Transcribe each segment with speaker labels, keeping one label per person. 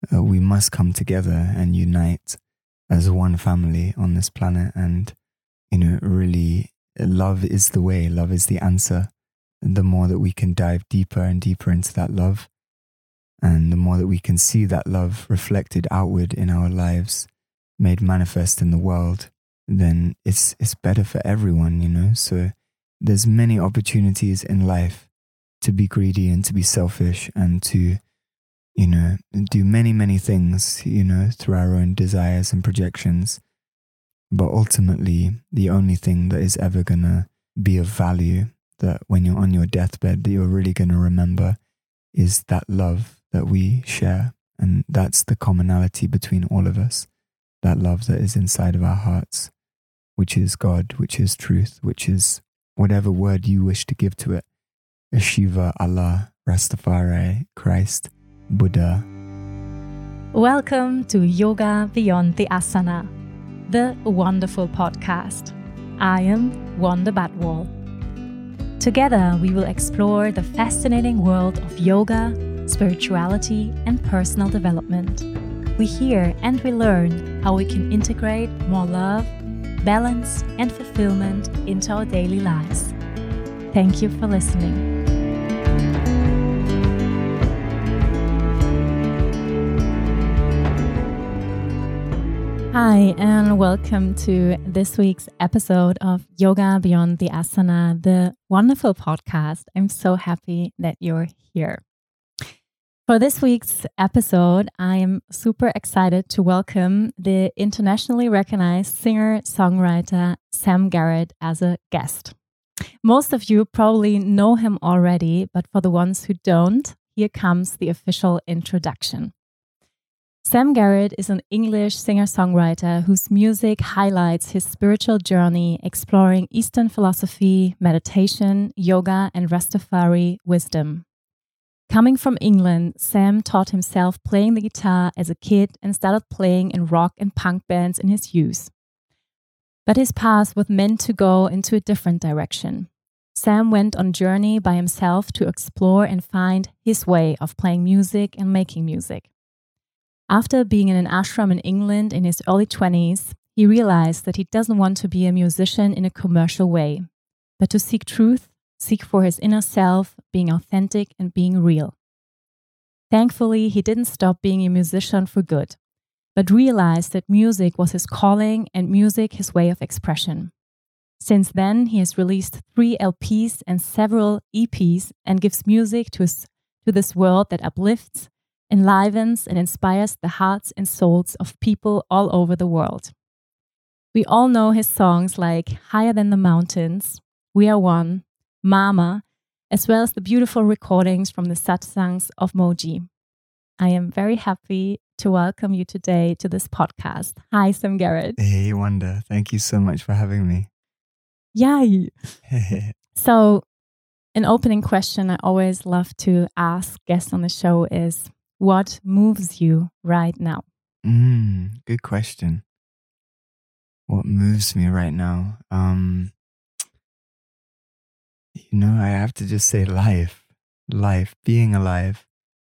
Speaker 1: we must come together and unite as one family on this planet. And, really, love is the way, love is the answer. The more that we can dive deeper and deeper into that love, and the more that we can see that love reflected outward in our lives, made manifest in the world, then it's better for everyone, So there's many opportunities in life to be greedy and to be selfish and to, do many, many things, through our own desires and projections. But ultimately, the only thing that is ever going to be of value, that when you're on your deathbed, that you're really going to remember, is that love that we share. And that's the commonality between all of us, that love that is inside of our hearts, which is God, which is truth, which is whatever word you wish to give to it. Shiva, Allah, Rastafari, Christ, Buddha.
Speaker 2: Welcome to Yoga Beyond the Asana, the wonderful podcast. I am Wanda Batwall. Together, we will explore the fascinating world of yoga, spirituality, and personal development. We hear and we learn how we can integrate more love, balance, and fulfillment into our daily lives. Thank you for listening. Hi, and welcome to this week's episode of Yoga Beyond the Asana, the wonderful podcast. I'm so happy that you're here. For this week's episode, I am super excited to welcome the internationally recognized singer-songwriter Sam Garrett as a guest. Most of you probably know him already, but for the ones who don't, here comes the official introduction. Sam Garrett is an English singer-songwriter whose music highlights his spiritual journey exploring Eastern philosophy, meditation, yoga, and Rastafari wisdom. Coming from England, Sam taught himself playing the guitar as a kid and started playing in rock and punk bands in his youth. But his path was meant to go into a different direction. Sam went on a journey by himself to explore and find his way of playing music and making music. After being in an ashram in England in his early 20s, he realized that he doesn't want to be a musician in a commercial way, but to seek truth, seek for his inner self, being authentic and being real. Thankfully, he didn't stop being a musician for good, but realized that music was his calling and music his way of expression. Since then, he has released 3 LPs and several EPs and gives music to this world that uplifts, enlivens, and inspires the hearts and souls of people all over the world. We all know his songs like Higher Than the Mountains, We Are One, Mama, as well as the beautiful recordings from the satsangs of Moji. I am very happy to welcome you today to this podcast. Hi, Sam Garrett.
Speaker 1: Hey, Wanda. Thank you so much for having me.
Speaker 2: Yay! So, an opening question I always love to ask guests on the show is, what moves you right now?
Speaker 1: Good question. What moves me right now? I have to just say life, being alive,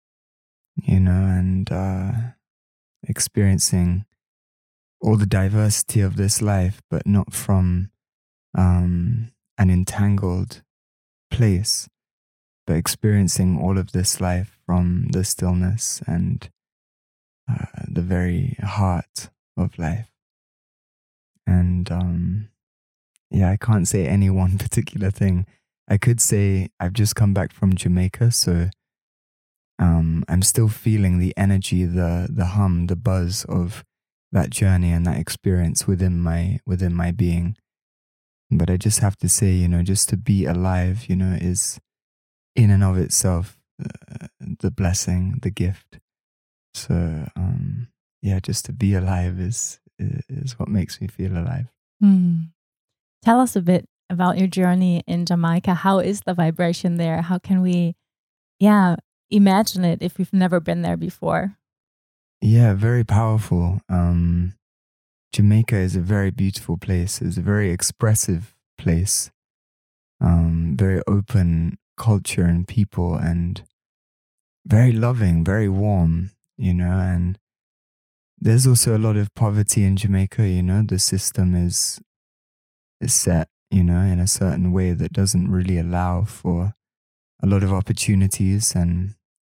Speaker 1: and experiencing all the diversity of this life, but not from an entangled place, but experiencing all of this life from the stillness and the very heart of life. And I can't say any one particular thing. I could say I've just come back from Jamaica, so I'm still feeling the energy, the hum, the buzz of that journey and that experience within my being. But I just have to say, just to be alive, is in and of itself the blessing, the gift. So just to be alive is what makes me feel alive.
Speaker 2: Tell us a bit about your journey in Jamaica. How is the vibration there? How can we imagine it if we've never been there before?
Speaker 1: Yeah, very powerful. Jamaica is a very beautiful place. It's a very expressive place. Very open culture and people, and very loving, very warm. and there's also a lot of poverty in Jamaica. The system is set, in a certain way that doesn't really allow for a lot of opportunities, and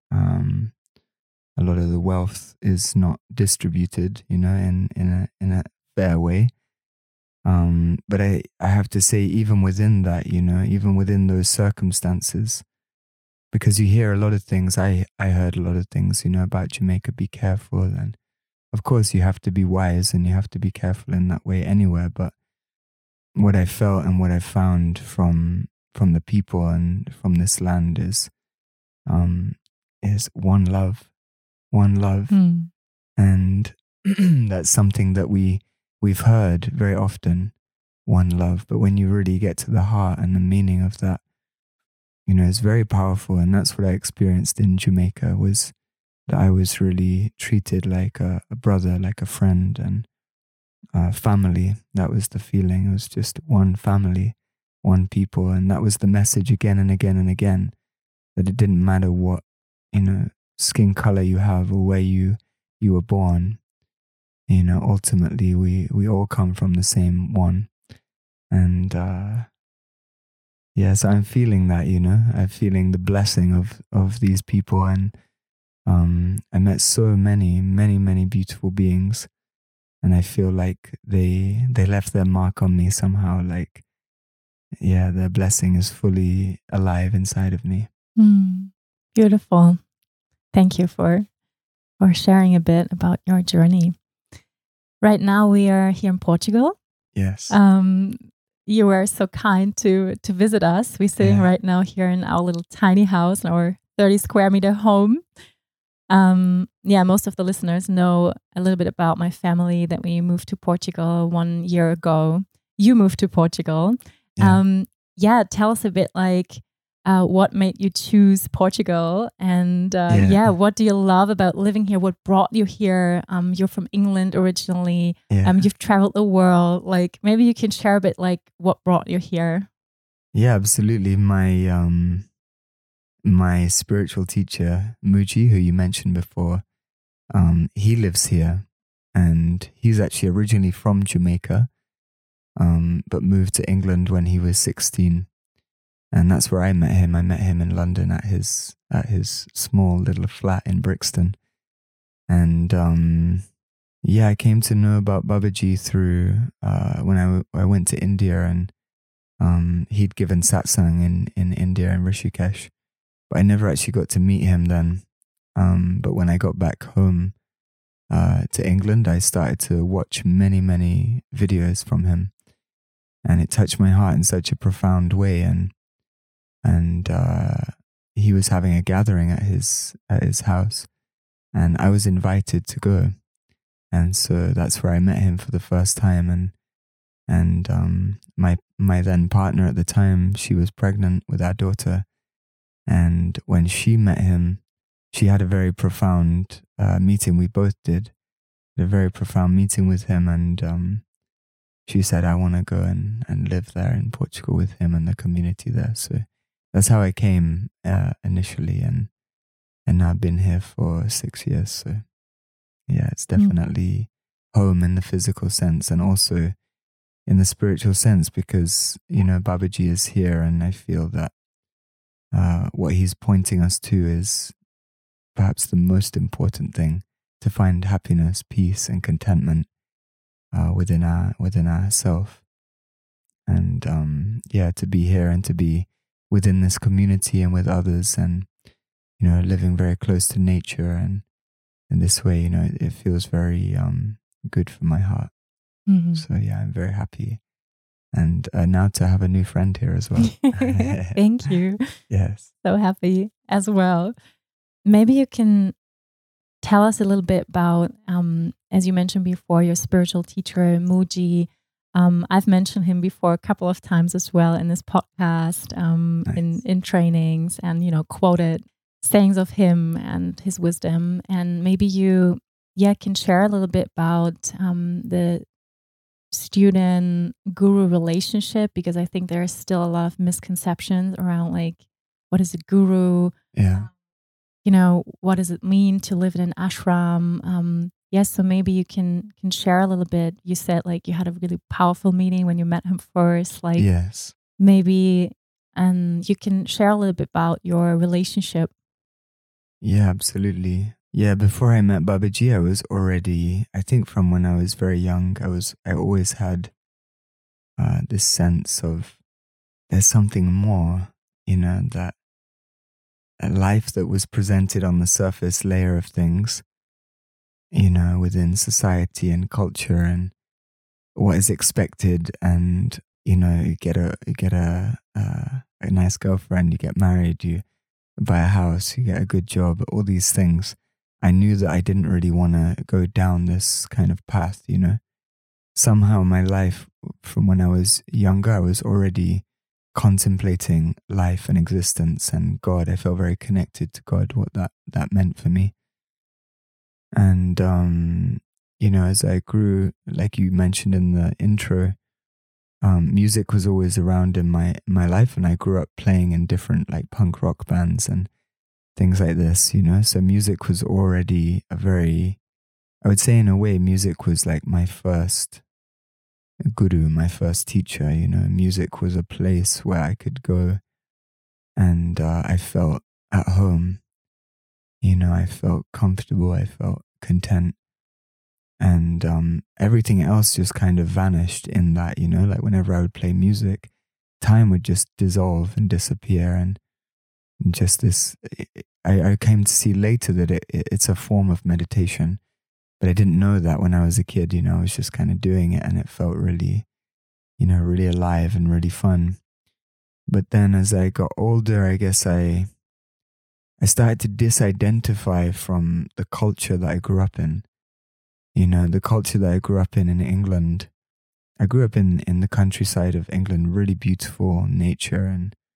Speaker 1: a lot of the wealth is not distributed, in a fair way. But I have to say, even within that, even within those circumstances, because you hear a lot of things, I heard a lot of things, about Jamaica, be careful. And of course you have to be wise and you have to be careful in that way anywhere. But what I felt and what I found from the people and from this land is one love. And that's something that we've heard very often, one love. But when you really get to the heart and the meaning of that, it's very powerful. And that's what I experienced in Jamaica, was that I was really treated like a brother, like a friend, and family. That was the feeling. It was just one family, one people. And that was the message again and again and again, that it didn't matter what, skin color you have or where you were born. Ultimately we all come from the same one. And so I'm feeling that, I'm feeling the blessing of these people. And I met so many beautiful beings, and I feel like they left their mark on me somehow. Like, their blessing is fully alive inside of me.
Speaker 2: Beautiful. Thank you for sharing a bit about your journey. Right now we are here in Portugal.
Speaker 1: Yes.
Speaker 2: You were so kind to visit us. We're sitting right now here in our little tiny house, in our 30 square meter home. Most of the listeners know a little bit about my family, that we moved to Portugal 1 year ago. You moved to Portugal. Tell us a bit, like, what made you choose Portugal, and what do you love about living here? What brought you here? You're from England originally. You've traveled the world. Like, maybe you can share a bit, like, what brought you here.
Speaker 1: Yeah, absolutely. My spiritual teacher, Muji, who you mentioned before, he lives here, and he's actually originally from Jamaica, but moved to England when he was 16. And that's where I met him. I met him in London at his small little flat in Brixton. And I came to know about Babaji through when I went to India, and he'd given satsang in India, in Rishikesh. But I never actually got to meet him then. But when I got back home to England, I started to watch many videos from him. And it touched my heart in such a profound way. And he was having a gathering at his house, and I was invited to go. And so that's where I met him for the first time. And my then partner at the time, she was pregnant with our daughter. And when she met him, she had a very profound meeting. We both did a very profound meeting with him. And she said, I want to go and live there in Portugal with him and the community there. So that's how I came initially, and I've been here for 6 years. So it's definitely home in the physical sense, and also in the spiritual sense, because Babaji is here, and I feel that what he's pointing us to is perhaps the most important thing, to find happiness, peace, and contentment within ourself, and to be here and to be within this community and with others, and living very close to nature, and in this way, it feels very good for my heart. So I'm very happy, and now to have a new friend here as well.
Speaker 2: Thank you.
Speaker 1: Yes,
Speaker 2: so happy as well. Maybe you can tell us a little bit about, as you mentioned before, your spiritual teacher, Muji. I've mentioned him before a couple of times as well in this podcast, nice. in trainings, and, quoted sayings of him and his wisdom. And maybe you, can share a little bit about the student-guru relationship, because I think there is still a lot of misconceptions around, like, what is a guru?
Speaker 1: Yeah.
Speaker 2: what does it mean to live in an ashram? Yes, so maybe you can share a little bit. You said like you had a really powerful meeting when you met him first. Like
Speaker 1: Yes.
Speaker 2: maybe you can share a little bit about your relationship.
Speaker 1: Yeah, absolutely. Yeah, before I met Babaji, I was already, I think from when I was very young, I always had this sense of there's something more, that a life that was presented on the surface layer of things, within society and culture and what is expected, and you get a nice girlfriend, you get married, you buy a house, you get a good job, all these things. I knew that I didn't really want to go down this kind of path, Somehow my life from when I was younger, I was already contemplating life and existence and God. I felt very connected to God, what that meant for me. And, as I grew, like you mentioned in the intro, music was always around in my life, and I grew up playing in different like punk rock bands and things like this, So music was already I would say in a way, music was like my first guru, my first teacher, Music was a place where I could go and I felt at home, I felt comfortable, I felt content. And everything else just kind of vanished in that, like whenever I would play music, time would just dissolve and disappear. And just this, I came to see later that it's a form of meditation, but I didn't know that when I was a kid, I was just kind of doing it and it felt really, really alive and really fun. But then as I got older, I guess I started to disidentify from the culture that I grew up in. The culture that I grew up in England. I grew up in the countryside of England, really beautiful nature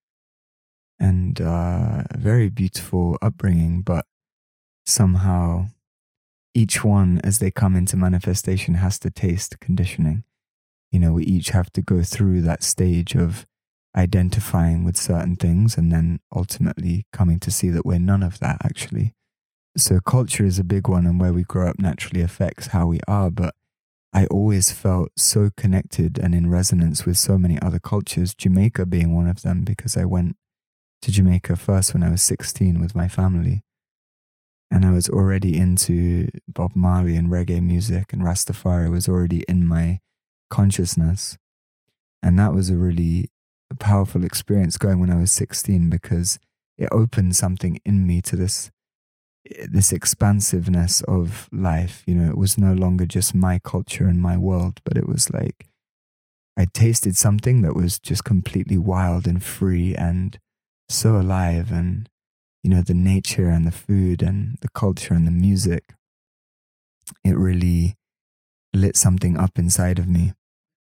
Speaker 1: and very beautiful upbringing, but somehow each one, as they come into manifestation, has to taste conditioning. We each have to go through that stage of identifying with certain things and then ultimately coming to see that we're none of that actually. So culture is a big one, and where we grow up naturally affects how we are, but I always felt so connected and in resonance with so many other cultures, Jamaica being one of them, because I went to Jamaica first when I was 16 with my family. And I was already into Bob Marley and reggae music, and Rastafari was already in my consciousness. And that was a really powerful experience going when I was 16, because it opened something in me to this expansiveness of life. It was no longer just my culture and my world, but it was like I tasted something that was just completely wild and free and so alive. And the nature and the food and the culture and the music, it really lit something up inside of me.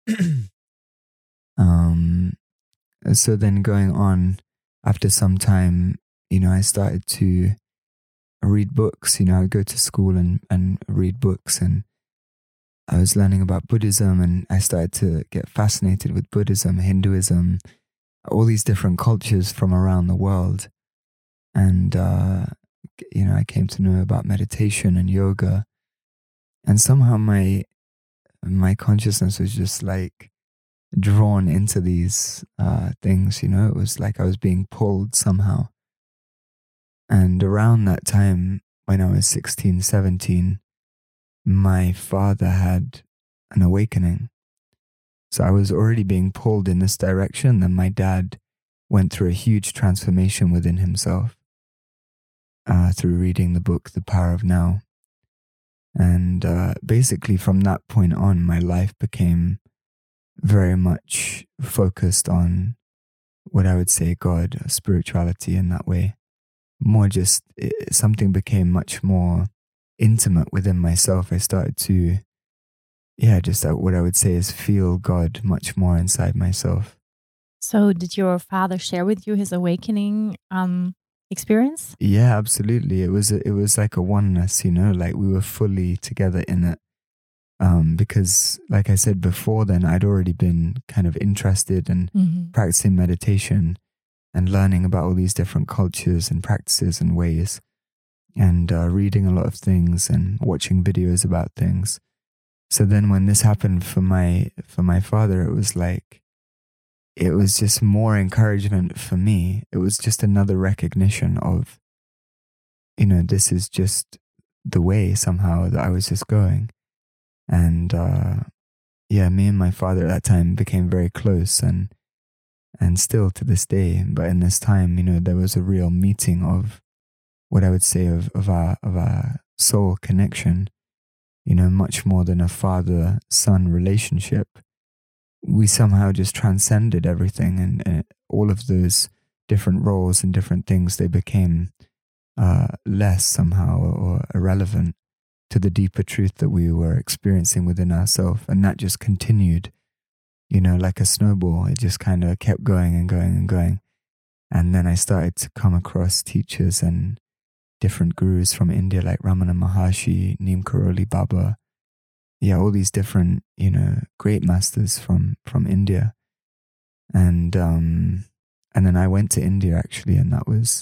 Speaker 1: So then going on, after some time, I started to read books. I would go to school and read books, and I was learning about Buddhism, and I started to get fascinated with Buddhism, Hinduism, all these different cultures from around the world. And, I came to know about meditation and yoga, and somehow my consciousness was just like drawn into these things, it was like I was being pulled somehow. And around that time, when I was 16, 17, my father had an awakening. So I was already being pulled in this direction. Then my dad went through a huge transformation within himself through reading the book, The Power of Now. And basically from that point on, my life became very much focused on what I would say God, spirituality in that way. More just, something became much more intimate within myself. I started to, just what I would say is feel God much more inside myself.
Speaker 2: So did your father share with you his awakening experience?
Speaker 1: Yeah, absolutely. It was like a oneness, like we were fully together in it. Because like I said before then, I'd already been kind of interested in practicing meditation and learning about all these different cultures and practices and ways. and reading a lot of things and watching videos about things. So then when this happened for my father, it was just more encouragement for me. It was just another recognition of, this is just the way somehow that I was just going. And me and my father at that time became very close, and still to this day. But in this time, there was a real meeting of what I would say of our soul connection, much more than a father-son relationship. We somehow just transcended everything, and all of those different roles and different things, they became less somehow or irrelevant to the deeper truth that we were experiencing within ourselves. And that just continued, like a snowball. It just kind of kept going and going and going. And then I started to come across teachers and different gurus from India, like Ramana Maharshi, Neem Karoli Baba. Yeah, all these different, great masters from India. And then I went to India actually, and that was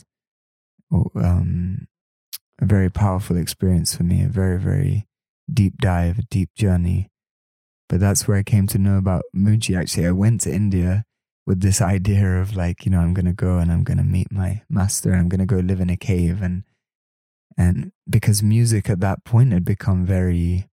Speaker 1: a very powerful experience for me, a very, very deep dive, a deep journey. But that's where I came to know about Mooji. Actually, I went to India with this idea of I'm going to go and I'm going to meet my master. I'm going to go live in a cave. And because music at that point had become very,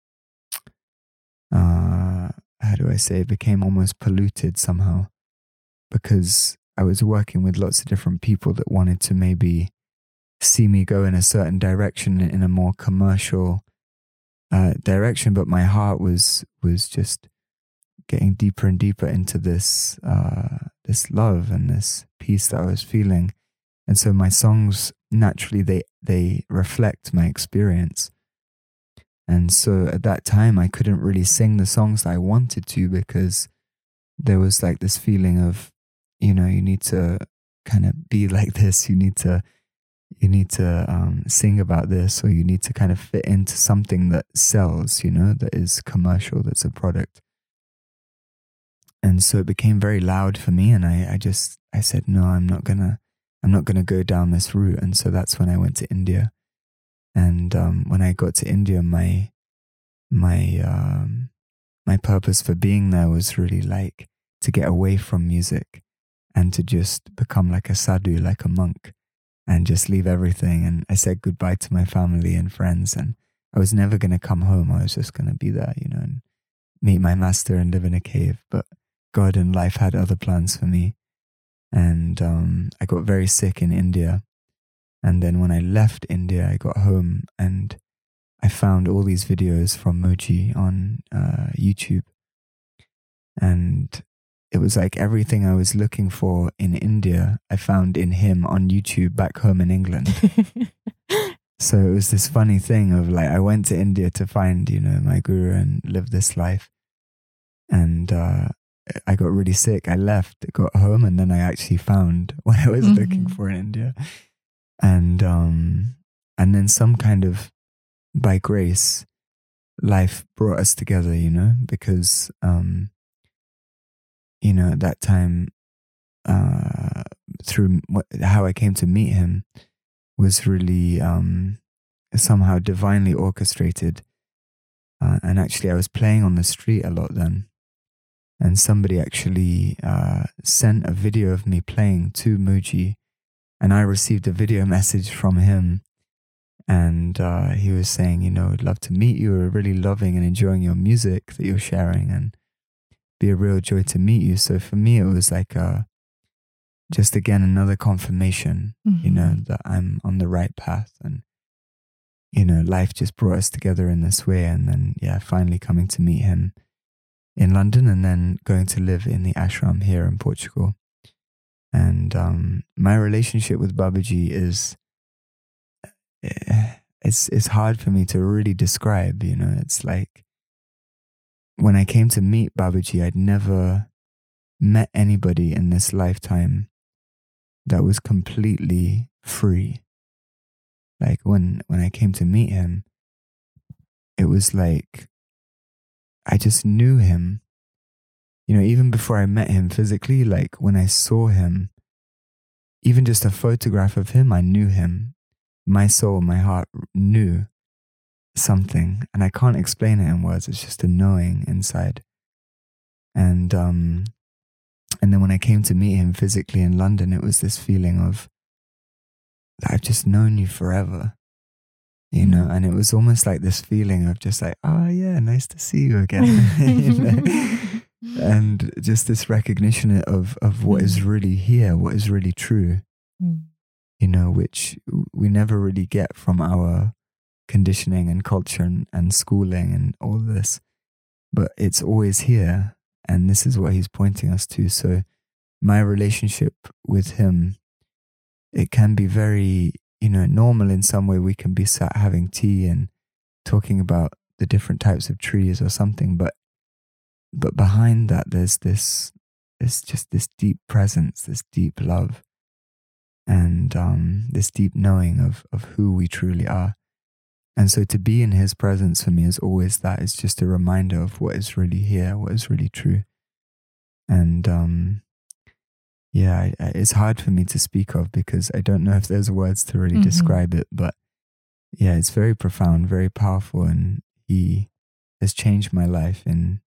Speaker 1: it became almost polluted somehow, because I was working with lots of different people that wanted to maybe see me go in a certain direction, in a more commercial direction, but my heart was just getting deeper and deeper into this love and this peace that I was feeling. And so my songs, naturally, they reflect my experience. And so at that time, I couldn't really sing the songs that I wanted to, because there was this feeling of, you need to kind of be like this. You need to sing about this, or you need to kind of fit into something that sells, that is commercial, that's a product. And so it became very loud for me, and I said, no, I'm not gonna go down this route. And so that's when I went to India. And when I got to India, my purpose for being there was really to get away from music and to just become like a sadhu, like a monk, and just leave everything. And I said goodbye to my family and friends, and I was never going to come home. I was just going to be there, and meet my master and live in a cave. But God and life had other plans for me. And I got very sick in India. And then when I left India, I got home and I found all these videos from Mooji on YouTube. And it was like everything I was looking for in India, I found in him on YouTube back home in England. So it was this funny thing of I went to India to find, my guru and live this life. And I got really sick. I left, got home, and then I actually found what I was looking for in India. And then some kind of, by grace, life brought us together, because, at that time, through how I came to meet him was really somehow divinely orchestrated. And actually, I was playing on the street a lot then. And somebody actually sent a video of me playing to Mooji, and I received a video message from him. And he was saying, I'd love to meet you. We're really loving and enjoying your music that you're sharing, and be a real joy to meet you. So for me, it was just again, another confirmation, that I'm on the right path. And, life just brought us together in this way. And then, finally coming to meet him in London, and then going to live in the ashram here in Portugal. And my relationship with Babaji is, it's hard for me to really describe, it's like when I came to meet Babaji, I'd never met anybody in this lifetime that was completely free. Like when I came to meet him, it was like I just knew him. Even before I met him physically, when I saw him, even just a photograph of him, I knew him. my soul, my heart knew something, and I can't explain it in words. It's just a knowing inside. And then when I came to meet him physically in London, it was this feeling of, I've just known you forever, you know, and it was almost like this feeling of just like, oh yeah, nice to see you again, you know? And just this recognition of what is really here, what is really true, you know, which we never really get from our conditioning and culture and schooling and all this, but it's always here. And this is what he's pointing us to. So my relationship with him, it can be very, you know, normal in some way. We can be sat having tea and talking about the different types of trees or something. But behind that, there's just this deep presence, this deep love, and this deep knowing of who we truly are. And so to be in his presence for me is always that. It's just a reminder of what is really here, what is really true. And it's hard for me to speak of because I don't know if there's words to really describe it. But yeah, it's very profound, very powerful. And he has changed my life in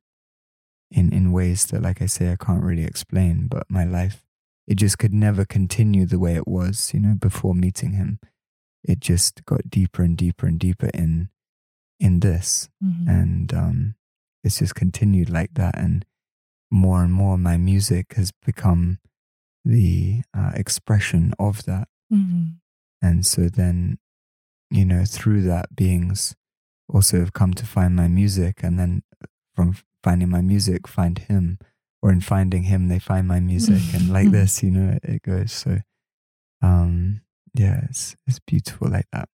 Speaker 1: ways that, like I say, I can't really explain. But my life, it just could never continue the way it was, you know, before meeting him. It just got deeper and deeper and deeper in this. And it's just continued like that. And more my music has become the expression of that. And so then, you know, through that, beings also have come to find my music. And then from finding my music, find him. Or in finding him, they find my music. And like this, you know, it goes. So, yeah, it's beautiful like that.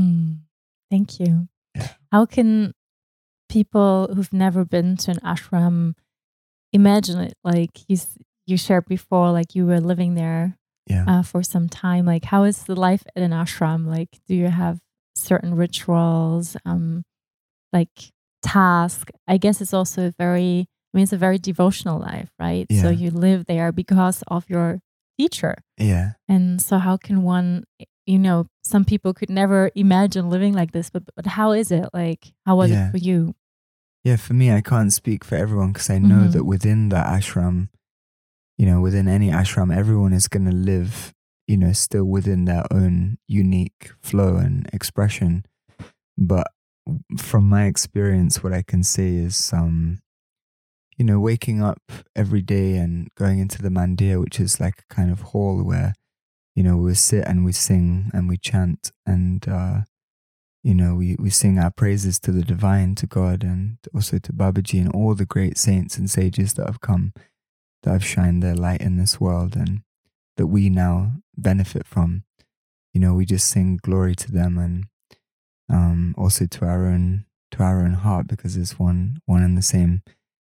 Speaker 2: Thank you.
Speaker 1: Yeah.
Speaker 2: How can people who've never been to an ashram imagine it? Like you shared before, like you were living there for some time. Like, how is the life at an ashram? Like, do you have certain rituals, like tasks? I guess it's also it's a very devotional life, right?
Speaker 1: Yeah.
Speaker 2: So you live there because of your teacher.
Speaker 1: Yeah.
Speaker 2: And so how can one, you know, some people could never imagine living like this, but how is it? Like, how was it for you?
Speaker 1: Yeah, for me, I can't speak for everyone because I know that within the ashram, you know, within any ashram, everyone is going to live, you know, still within their own unique flow and expression. But from my experience, what I can say is, you know, waking up every day and going into the mandir, which is like a kind of hall where, you know, we sit and we sing and we chant and, you know, we sing our praises to the divine, to God, and also to Babaji and all the great saints and sages that have come, that have shined their light in this world and that we now benefit from. You know, we just sing glory to them and also to our own heart, because it's one and the same.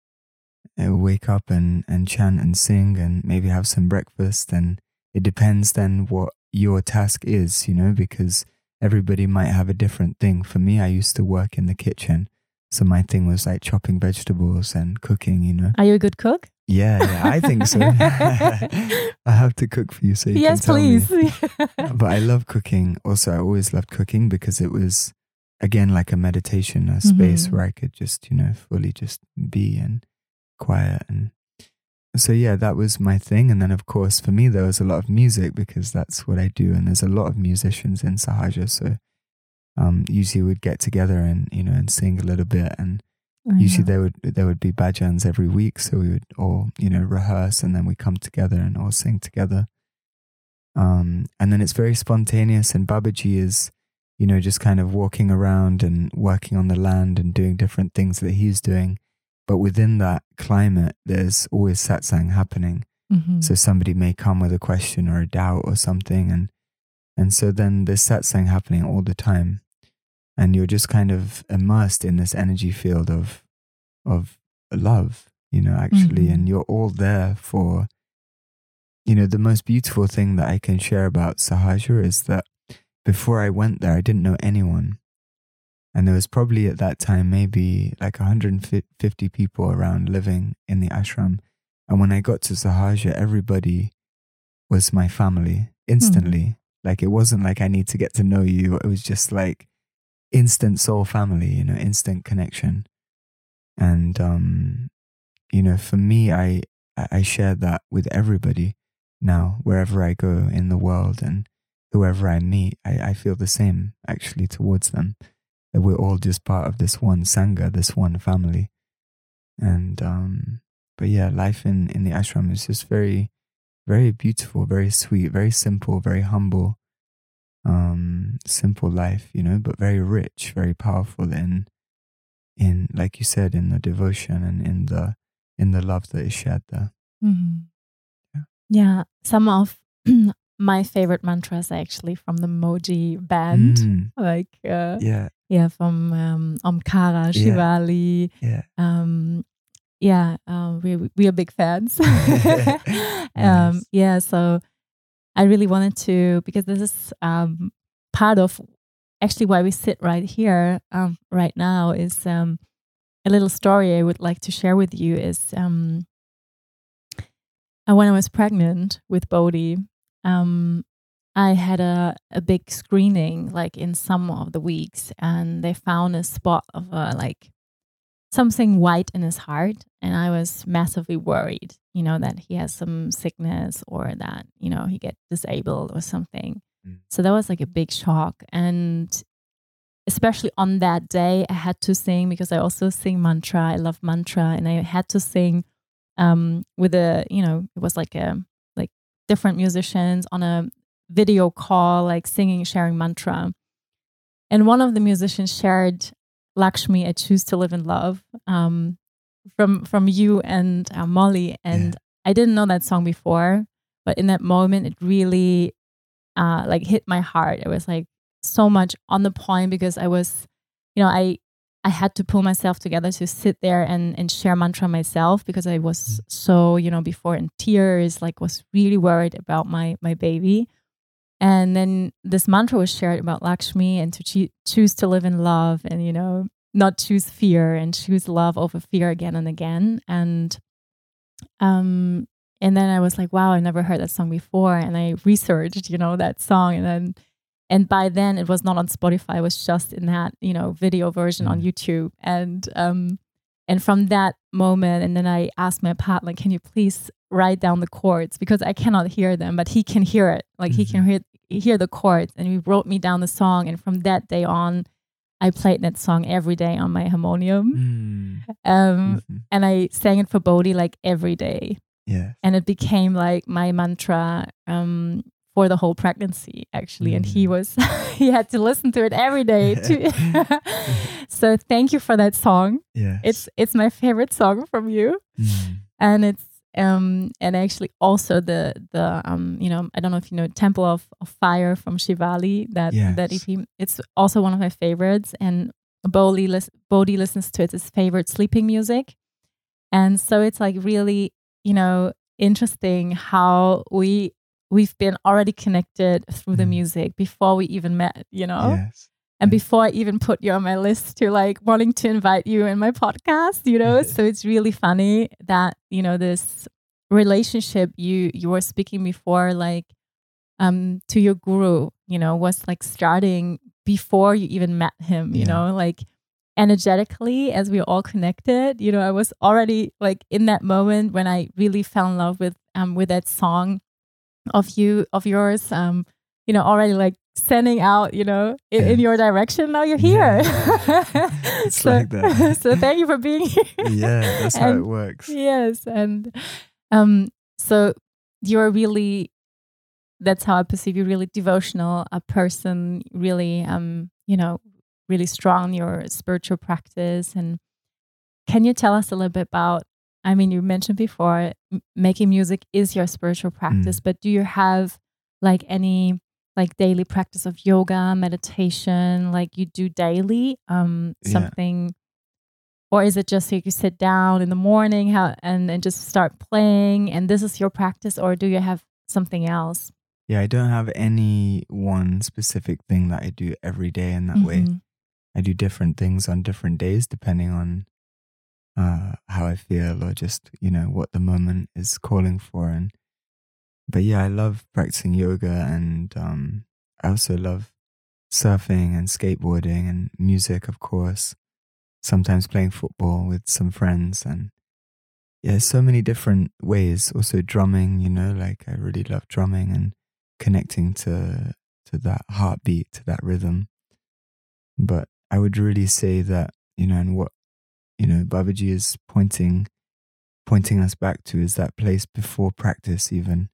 Speaker 1: Wake up and chant and sing and maybe have some breakfast, and it depends then what your task is, you know, because everybody might have a different thing. For me, I used to work in the kitchen, so my thing was like chopping vegetables and cooking, you know.
Speaker 2: Are you a good cook?
Speaker 1: Yeah, I think so. I have to cook for you so you can tell
Speaker 2: please.
Speaker 1: me. But I love cooking. Also, I always loved cooking because it was, again, like a meditation, a space where I could just, you know, fully just be and quiet. And so yeah, that was my thing. And then of course for me there was a lot of music because that's what I do, and there's a lot of musicians in Sahaja, so usually we'd get together and, you know, and sing a little bit, and usually there would be bhajans every week, so we would all, you know, rehearse and then we come together and all sing together, and then it's very spontaneous, and Babaji is, you know, just kind of walking around and working on the land and doing different things that he's doing. But within that climate, there's always satsang happening. So somebody may come with a question or a doubt or something. And so then there's satsang happening all the time. And you're just kind of immersed in this energy field of love, you know, actually. And you're all there for, you know, the most beautiful thing that I can share about Sahaja is that before I went there, I didn't know anyone. And there was probably at that time maybe like 150 people around living in the ashram. And when I got to Sahaja, everybody was my family instantly. Like, it wasn't like I need to get to know you. It was just like instant soul family, instant connection. And, for me, I share that with everybody now, wherever I go in the world and whoever I meet, I feel the same actually towards them. That we're all just part of this one Sangha, this one family. And, but yeah, life in the ashram is just very, very beautiful, very sweet, very simple, very humble. Simple life, but very rich, very powerful in like you said, in the devotion and in the love that is shared there.
Speaker 2: Mm-hmm. Yeah, some of my favorite mantras are actually from the Moji band, like from Omkara, Shivali. We are big fans.
Speaker 1: Nice.
Speaker 2: So I really wanted to, because this is part of actually why we sit right here right now, is a little story I would like to share with you. Is when I was pregnant with Bodhi, I had a big screening like in some of the weeks, and they found a spot of like something white in his heart, and I was massively worried, that he has some sickness or that, he get disabled or something. So that was like a big shock. And especially on that day, I had to sing, because I also sing mantra. I love mantra, and I had to sing with it was like different musicians on a video call, like singing, sharing mantra. And one of the musicians shared Lakshmi, I Choose to Live in Love, from you and Molly. And I didn't know that song before, but in that moment, it really like hit my heart. It was like so much on the point, because I was, I had to pull myself together to sit there and share mantra myself, because I was so, before in tears, like was really worried about my baby. And then this mantra was shared about Lakshmi, and to choose to live in love, and, not choose fear, and choose love over fear again and again. And then I was like, wow, I never heard that song before. And I researched, that song. And by then it was not on Spotify. It was just in that, video version on YouTube. And from that moment, and then I asked my partner, can you please write down the chords? Because I cannot hear them, but he can hear it. Like he can hear the chords. And he wrote me down the song. And from that day on, I played that song every day on my harmonium. And I sang it for Bodhi like every day.
Speaker 1: Yes.
Speaker 2: And it became like my mantra for the whole pregnancy, actually. And he had to listen to it every day too. So thank you for that song.
Speaker 1: Yes.
Speaker 2: It's my favorite song from you. And it's and actually also the I don't know if you know Temple of Fire from Shivali, that EP. It's also one of my favorites, and Bodhi listens to it as favorite sleeping music. And so it's like really, interesting how we've been already connected through the music before we even met,
Speaker 1: Yes.
Speaker 2: And before I even put you on my list to like wanting to invite you in my podcast, So it's really funny that, this relationship you were speaking before, like to your guru, was like starting before you even met him, like energetically, as we all connected, I was already like in that moment when I really fell in love with that song of yours, already like sending out, in your direction. Now you're here.
Speaker 1: It's so, like that.
Speaker 2: So thank you for being here.
Speaker 1: Yeah, that's how it works.
Speaker 2: Yes. And so you're really, that's how I perceive you, really devotional, a person, really, really strong in your spiritual practice. And can you tell us a little bit about, I mean, you mentioned before, making music is your spiritual practice, but do you have like any like daily practice of yoga, meditation, like you do daily, something, or is it just like you sit down in the morning and just start playing and this is your practice, or do you have something else?
Speaker 1: Yeah, I don't have any one specific thing that I do every day in that way. I do different things on different days depending on how I feel, or just, what the moment is calling for. But yeah, I love practicing yoga and I also love surfing and skateboarding and music, of course. Sometimes playing football with some friends, and yeah, so many different ways. Also drumming, like I really love drumming and connecting to that heartbeat, to that rhythm. But I would really say that, and what, Babaji is pointing us back to is that place before practice even,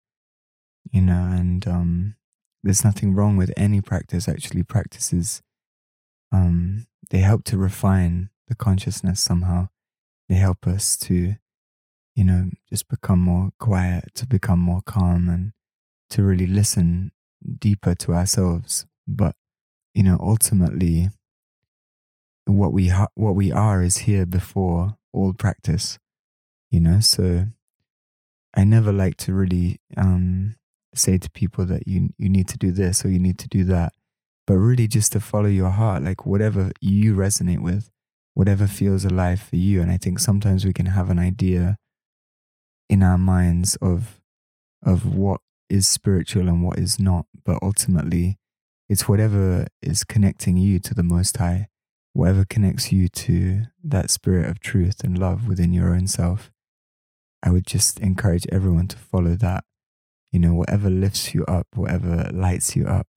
Speaker 1: and there's nothing wrong with any practice. Actually, practices, they help to refine the consciousness somehow. They help us to, just become more quiet, to become more calm, and to really listen deeper to ourselves. But, ultimately, what we are is here before all practice, so I never like to really say to people that you need to do this or you need to do that, but really just to follow your heart, like whatever you resonate with, whatever feels alive for you. And I think sometimes we can have an idea in our minds of what is spiritual and what is not, but ultimately it's whatever is connecting you to the Most High, whatever connects you to that spirit of truth and love within your own self. I would just encourage everyone to follow that, whatever lifts you up, whatever lights you up,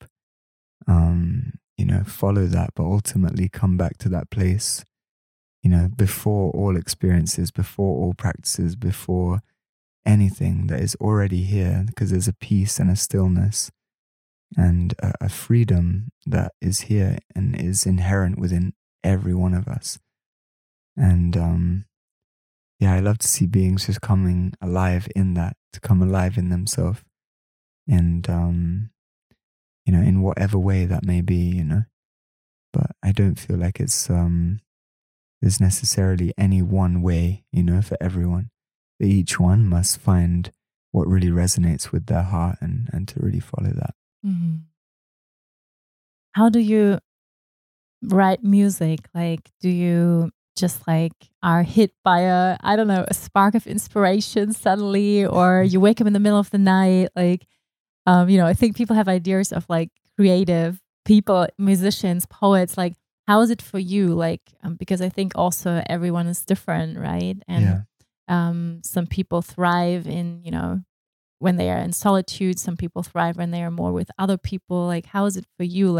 Speaker 1: follow that, but ultimately come back to that place, before all experiences, before all practices, before anything that is already here, because there's a peace and a stillness and a freedom that is here and is inherent within every one of us. And I love to see beings just coming alive in that, to come alive in themselves, and in whatever way that may be, But I don't feel like it's there's necessarily any one way, for everyone. But each one must find what really resonates with their heart and to really follow that.
Speaker 2: Mm-hmm. How do you write music? Like, do you just are hit by a spark of inspiration suddenly, or you wake up in the middle of the night? I think people have ideas of creative people, musicians, poets. How is it for you? Because I think also everyone is different, right? And some people thrive in, when they are in solitude. Some people thrive when they are more with other people. How is it for you?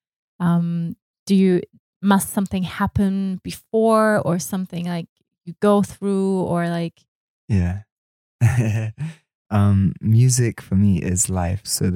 Speaker 2: Must something happen before, or something you go through, or
Speaker 1: Yeah. Music for me is life. So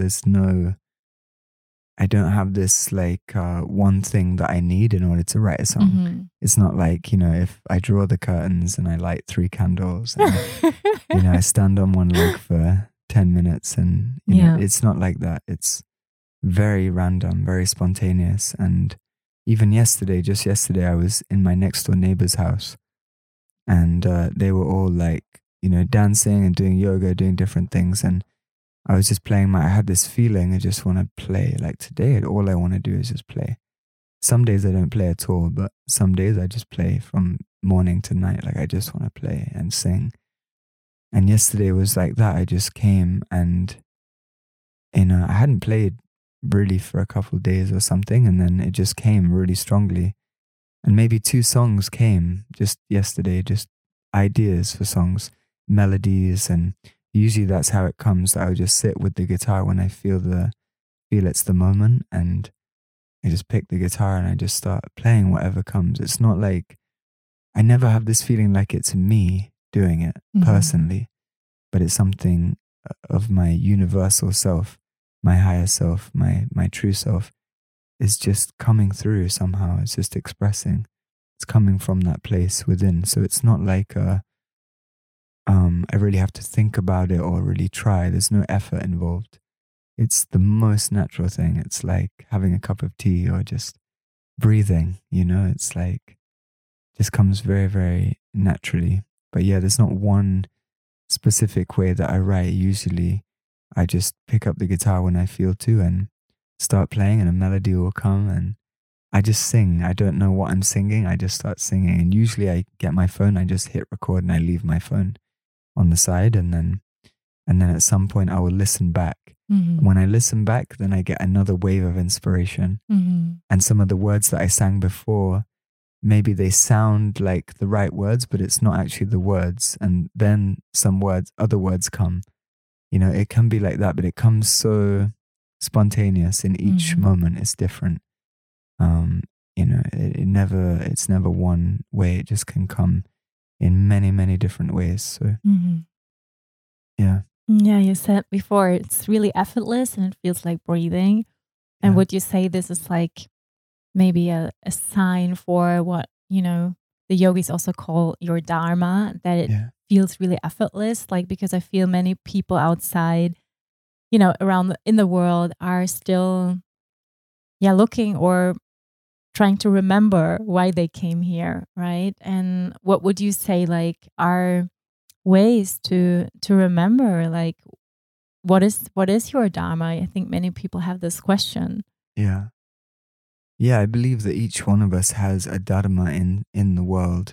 Speaker 1: I don't have this one thing that I need in order to write a song.
Speaker 2: Mm-hmm.
Speaker 1: It's not if I draw the curtains and I light 3 candles and, I stand on one leg for 10 minutes and, it's not like that. It's very random, very spontaneous. And even just yesterday, I was in my next door neighbor's house, and they were all dancing and doing yoga, doing different things. And I was just playing I had this feeling I just want to play. Today, all I want to do is just play. Some days I don't play at all, but some days I just play from morning to night. I just want to play and sing. And yesterday was like that. I just came and, I hadn't played really for a couple of days or something. And then it just came really strongly. And maybe 2 songs came just yesterday, just ideas for songs, melodies. And usually that's how it comes. I would just sit with the guitar when I feel it's the moment. And I just pick the guitar and I just start playing whatever comes. It's not I never have this feeling like it's me doing it personally, but it's something of my universal self, my higher self, my true self is just coming through somehow. It's just expressing. It's coming from that place within. So it's not I really have to think about it or really try. There's no effort involved. It's the most natural thing. It's like having a cup of tea or just breathing, it's just comes very, very naturally. But there's not one specific way that I write. Usually I just pick up the guitar when I feel to and start playing, and a melody will come and I just sing. I don't know what I'm singing. I just start singing. And usually I get my phone, I just hit record and I leave my phone on the side. And then at some point I will listen back
Speaker 2: Mm-hmm.
Speaker 1: When I listen back, then I get another wave of inspiration.
Speaker 2: Mm-hmm.
Speaker 1: And some of the words that I sang before, maybe they sound like the right words, but it's not actually the words. And then other words come. It can be like that, but it comes so spontaneous in each moment. It's different. It's never one way. It just can come in many, many different ways. So, yeah.
Speaker 2: Yeah, you said before, it's really effortless and it feels like breathing. And would you say this is like maybe a sign for what, the yogis also call your dharma, that it feels really effortless? Like, because I feel many people outside, around in the world are still, looking or trying to remember why they came here, right? And what would you say, like, are ways to remember, like, what is your dharma? I think many people have this question.
Speaker 1: Yeah, I believe that each one of us has a dharma in the world.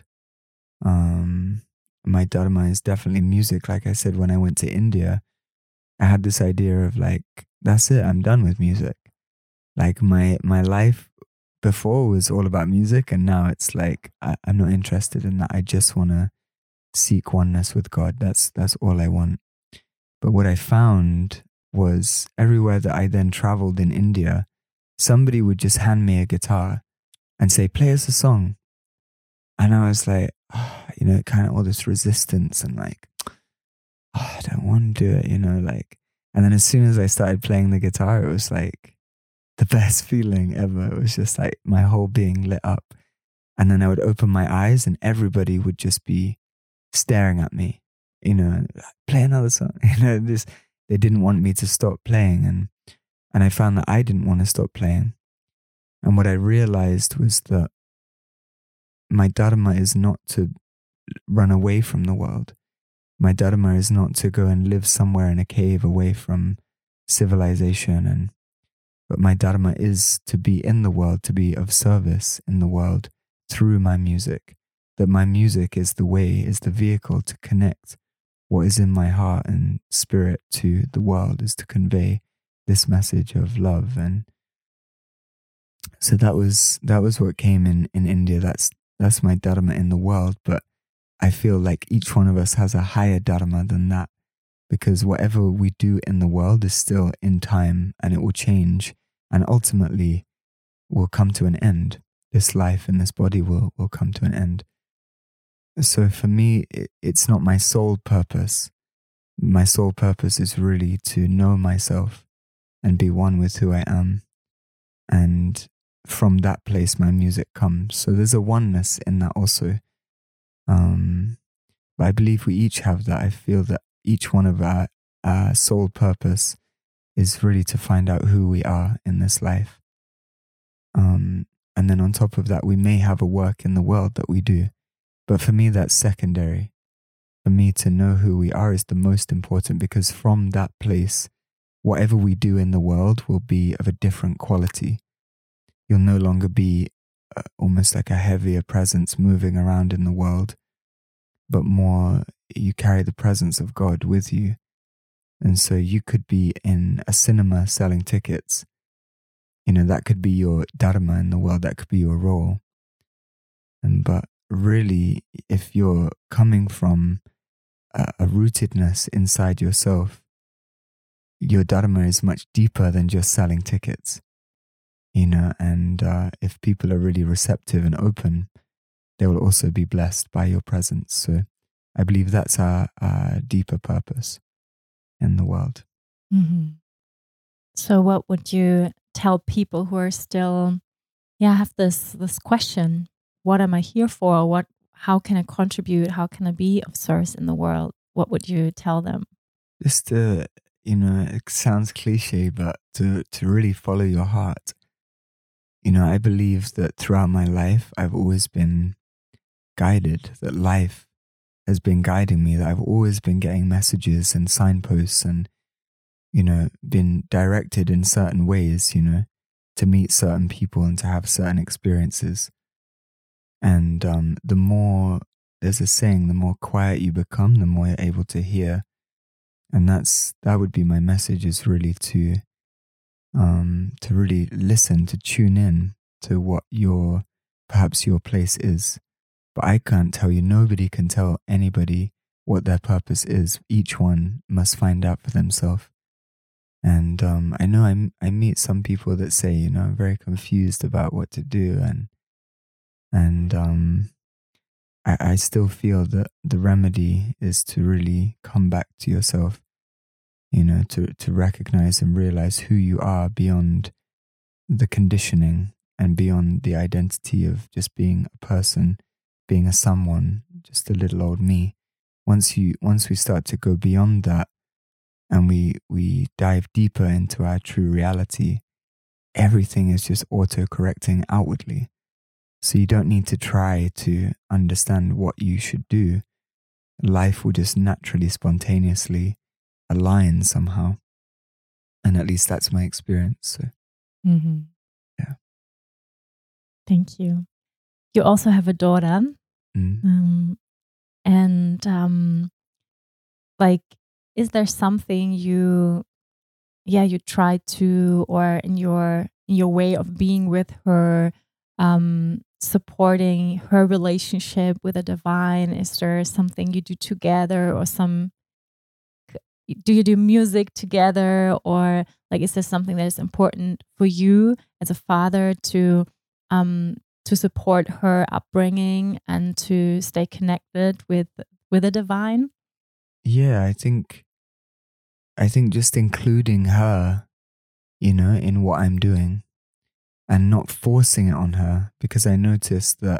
Speaker 1: My dharma is definitely music. Like I said, when I went to India, I had this idea of like, that's it, I'm done with music. Like my life before was all about music, and now it's like I'm not interested in that. I just want to seek oneness with God. That's all I want. But what I found was everywhere that I then traveled in India, somebody would just hand me a guitar and say, play us a song. And I was like, kind of all this resistance and like, I don't want to do it, like. And then as soon as I started playing the guitar, it was like the best feeling ever. It was just like my whole being lit up. And then I would open my eyes and everybody would just be staring at me, play another song. They didn't want me to stop playing. And I found that I didn't want to stop playing. And what I realized was that my dharma is not to run away from the world. My dharma is not to go and live somewhere in a cave away from civilization. But my dharma is to be in the world, to be of service in the world through my music. That my music is the way, is the vehicle to connect what is in my heart and spirit to the world, is to convey this message of love. And so that was what came in India. That's my dharma in the world. But I feel like each one of us has a higher dharma than that, because whatever we do in the world is still in time and it will change and ultimately will come to an end. This life and this body will come to an end. So for me, it's not my sole purpose. My sole purpose is really to know myself and be one with who I am. And from that place, my music comes. So there's a oneness in that also. But I believe we each have that. I feel that each one of our sole purpose is really to find out who we are in this life. And then on top of that, we may have a work in the world that we do. But for me, that's secondary. For me, to know who we are is the most important, because from that place, whatever we do in the world will be of a different quality. You'll no longer be almost like a heavier presence moving around in the world, but more you carry the presence of God with you. And so you could be in a cinema selling tickets. That could be your dharma in the world. That could be your role. But really, if you're coming from a rootedness inside yourself, your dharma is much deeper than just selling tickets. And if people are really receptive and open, they will also be blessed by your presence. So I believe that's our deeper purpose in the world.
Speaker 2: Mm-hmm. So what would you tell people who are still, have this question? What am I here for? How can I contribute? How can I be of service in the world? What would you tell them?
Speaker 1: Just to, it sounds cliche, but to really follow your heart. I believe that throughout my life, I've always been guided, that life has been guiding me, that I've always been getting messages and signposts and, been directed in certain ways, to meet certain people and to have certain experiences. And the more, there's a saying, the more quiet you become, the more you're able to hear. And that would be my message, is really to really listen, to tune in to what perhaps your place is. But I can't tell you, nobody can tell anybody what their purpose is. Each one must find out for themselves. And I know I meet some people that say, I'm very confused about what to do, and I still feel that the remedy is to really come back to yourself, to recognize and realize who you are beyond the conditioning and beyond the identity of just being a person, being a someone, just a little old me. Once we start to go beyond that, and we dive deeper into our true reality, everything is just auto-correcting outwardly. So you don't need to try to understand what you should do. Life will just naturally, spontaneously align somehow. And at least that's my experience. So, yeah.
Speaker 2: Thank you. You also have a daughter. Is there something you try to, or in your way of being with her, supporting her relationship with the divine? Is there something you do together, or do you do music together, or is there something that is important for you as a father to support her upbringing and to stay connected with the divine?
Speaker 1: Yeah, I think just including her, in what I'm doing, and not forcing it on her, because I noticed that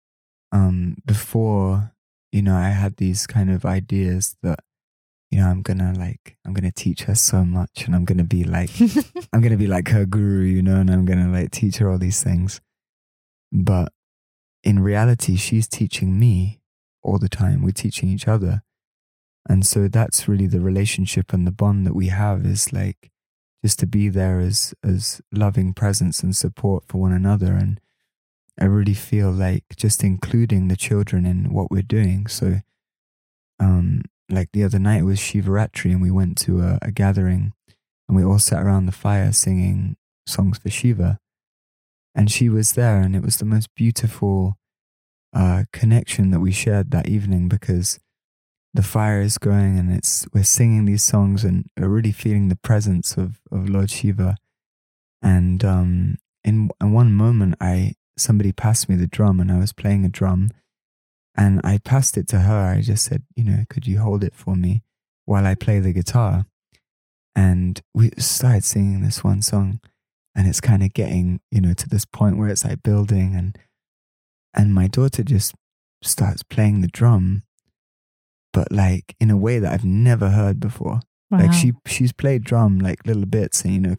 Speaker 1: before, I had these kind of ideas that, I'm gonna teach her so much, and I'm gonna be like I'm gonna be like her guru, and I'm gonna teach her all these things. But in reality, she's teaching me all the time. We're teaching each other. And so that's really the relationship and the bond that we have, is just to be there as loving presence and support for one another. And I really feel like just including the children in what we're doing. So the other night was Shivaratri, and we went to a gathering, and we all sat around the fire singing songs for Shiva. And she was there, and it was the most beautiful connection that we shared that evening, because the fire is going, and we're singing these songs, and we're really feeling the presence of Lord Shiva. And in one moment, somebody passed me the drum, and I was playing a drum, and I passed it to her. I just said, could you hold it for me while I play the guitar? And we started singing this one song, and it's kind of getting, to this point where it's building, and my daughter just starts playing the drum, but in a way that I've never heard before.
Speaker 2: Wow.
Speaker 1: She's played drum little bits, and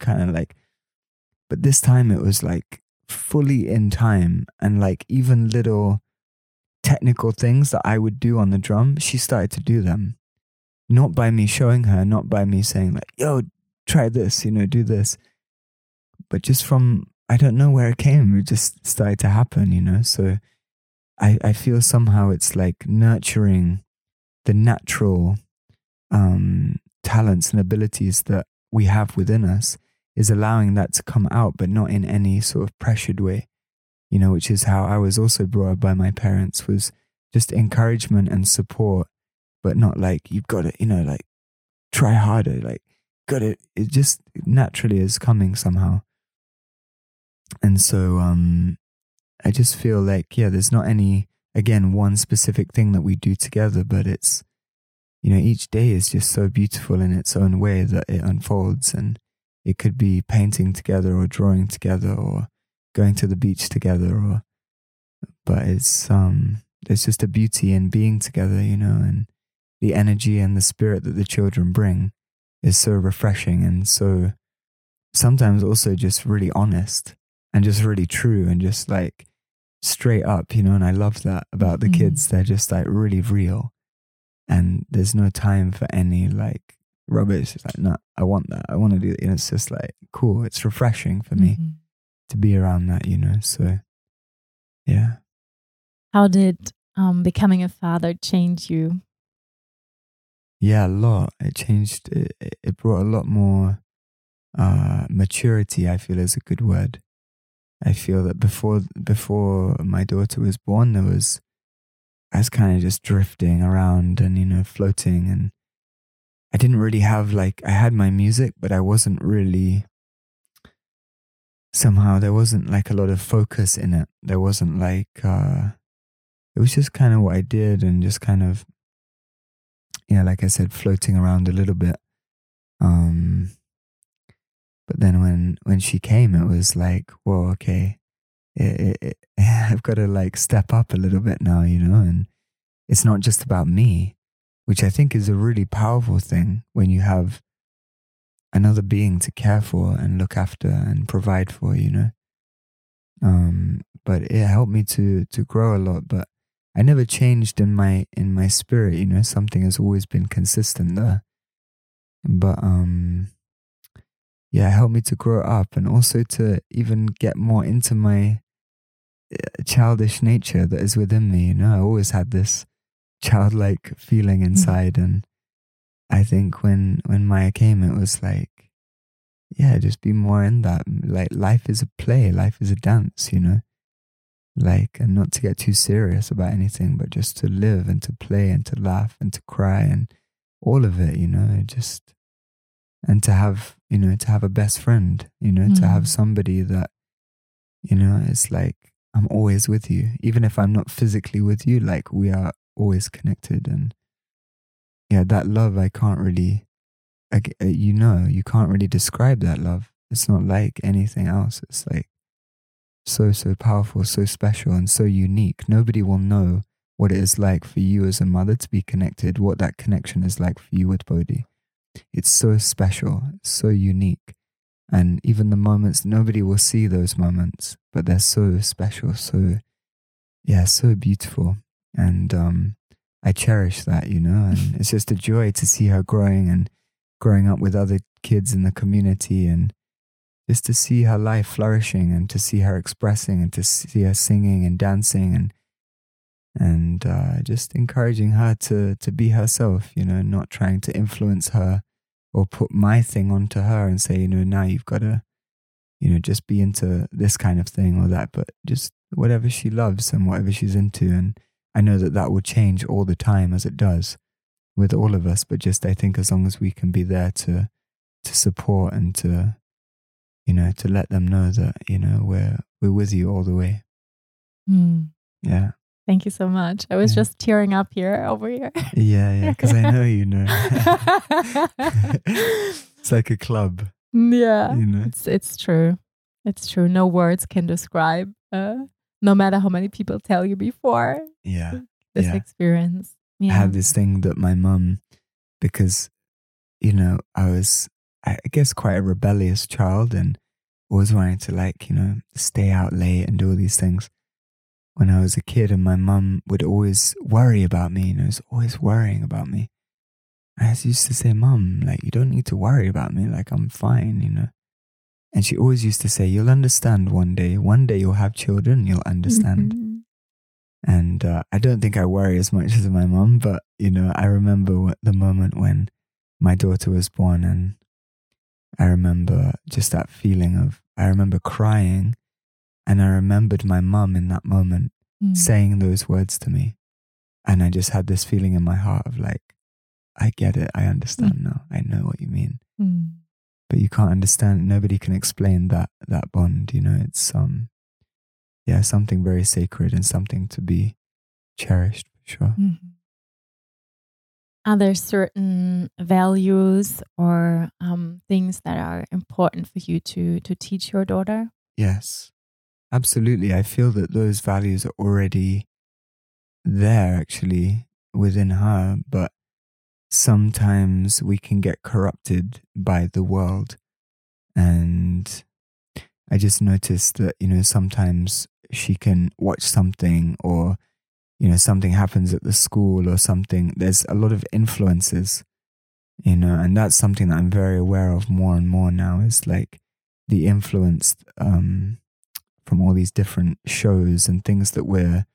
Speaker 1: but this time it was fully in time, and even little technical things that I would do on the drum, she started to do them. Not by me showing her, not by me saying yo, try this, do this. But just from, I don't know where it came, it just started to happen, So I feel somehow it's nurturing the natural talents and abilities that we have within us, is allowing that to come out, but not in any sort of pressured way, which is how I was also brought up by my parents, was just encouragement and support, but not you've got to, try harder, got it. It just naturally is coming somehow. And so I just feel there's not any, again, one specific thing that we do together, but it's, each day is just so beautiful in its own way that it unfolds. And it could be painting together, or drawing together, or going to the beach together, but it's there's just a beauty in being together, and the energy and the spirit that the children bring is so refreshing, and so sometimes also just really honest, and just really true, and just straight up, and I love that about the kids. They're just really real, and there's no time for any rubbish. It's no, I want that, I want to do it. It's just cool. It's refreshing for me to be around that, so yeah.
Speaker 2: How did becoming a father change you?
Speaker 1: Yeah, a lot. It changed. It brought a lot more maturity, I feel, is a good word. I feel that before my daughter was born, I was kind of just drifting around and floating, and I didn't really have I had my music, but I wasn't really, somehow there wasn't a lot of focus in it. There wasn't it was just kind of what I did, and just kind of, like I said, floating around a little bit. But then when she came, it was whoa, okay, I've got to step up a little bit now, and it's not just about me, which I think is a really powerful thing when you have another being to care for and look after and provide for, But it helped me to grow a lot, but I never changed in my spirit, something has always been consistent there. But it helped me to grow up, and also to even get more into my childish nature that is within me. I always had this childlike feeling inside, and I think when Maya came, it was just be more in that. Life is a play, life is a dance, and not to get too serious about anything, but just to live and to play and to laugh and to cry and all of it, just, and to have a best friend, to have somebody that, it's I'm always with you, even if I'm not physically with you, we are always connected. And that love, I can't really, you can't really describe that love. It's not like anything else. It's so powerful, so special, and so unique. Nobody will know what it is like for you as a mother to be connected, what that connection is like for you with Bodhi. It's so special, so unique. And even the moments, nobody will see those moments, but they're so special, so beautiful. And I cherish that, and it's just a joy to see her growing up with other kids in the community, and just to see her life flourishing, and to see her expressing, and to see her singing and dancing, and just encouraging her to be herself, not trying to influence her or put my thing onto her and say, now you've got to, just be into this kind of thing or that, but just whatever she loves and whatever she's into. And I know that will change all the time, as it does with all of us, but just, I think as long as we can be there to support and to let them know that, we're with you all the way. Yeah.
Speaker 2: Thank you so much. I was just tearing up over here.
Speaker 1: Yeah, because I know It's like a club.
Speaker 2: Yeah, it's true. It's true. No words can describe, no matter how many people tell you before. This experience.
Speaker 1: I have this thing that my mum, because, I was, I guess, quite a rebellious child, and always wanting to stay out late and do all these things when I was a kid, and my mum would always worry about me, was always worrying about me. I used to say, Mum, you don't need to worry about me, I'm fine, And she always used to say, you'll understand one day you'll have children, you'll understand. And I don't think I worry as much as my mum, but, I remember the moment when my daughter was born, and I remember just that feeling of, I remember crying, and I remembered my mum in that moment saying those words to me. And I just had this feeling in my heart of I get it, I understand now, I know what you mean. But you can't understand, nobody can explain that bond, it's something very sacred and something to be cherished, for sure.
Speaker 2: Are there certain values or things that are important for you to teach your daughter?
Speaker 1: Yes, absolutely. I feel that those values are already there, actually, within her, but sometimes we can get corrupted by the world. And I just noticed that, sometimes she can watch something, or, something happens at the school or something. There's a lot of influences, and that's something that I'm very aware of more and more now, is the influence from all these different shows and things that we're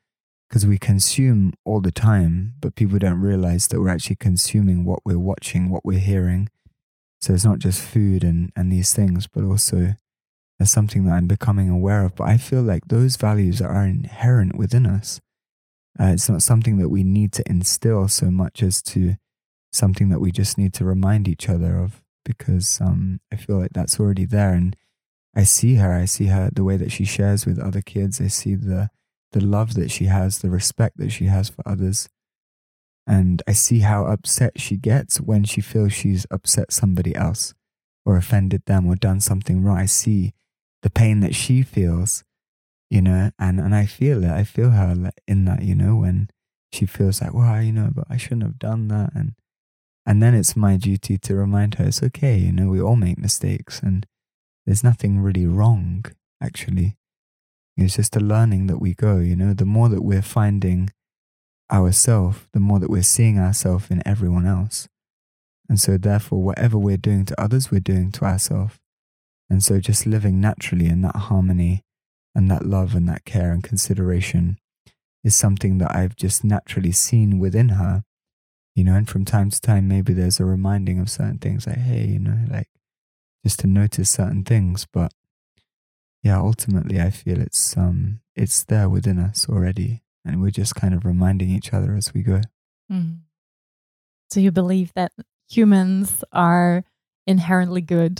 Speaker 1: because we consume all the time, but people don't realize that we're actually consuming what we're watching, what we're hearing. So it's not just food and these things, but also there's something that I'm becoming aware of. But I feel like those values are inherent within us. It's not something that we need to instill so much as to something that we just need to remind each other of, because I feel like that's already there. And I see her, the way that she shares with other kids. I see the love that she has, the respect that she has for others. And I see how upset she gets when she feels she's upset somebody else or offended them or done something wrong. I see the pain that she feels, you know, and I feel it. I feel her in that, you know, when she feels like, well, you know, but I shouldn't have done that. And then it's my duty to remind her it's okay, you know, we all make mistakes and there's nothing really wrong, actually. It's just a learning that we go, you know, the more that we're finding ourselves, the more that we're seeing ourselves in everyone else. And so therefore, whatever we're doing to others, we're doing to ourselves. And so just living naturally in that harmony and that love and that care and consideration is something that I've just naturally seen within her, you know, and from time to time, maybe there's a reminding of certain things like, hey, you know, like just to notice certain things. But yeah, ultimately, I feel it's there within us already, and we're just kind of reminding each other as we go.
Speaker 2: Mm. So you believe that humans are inherently good?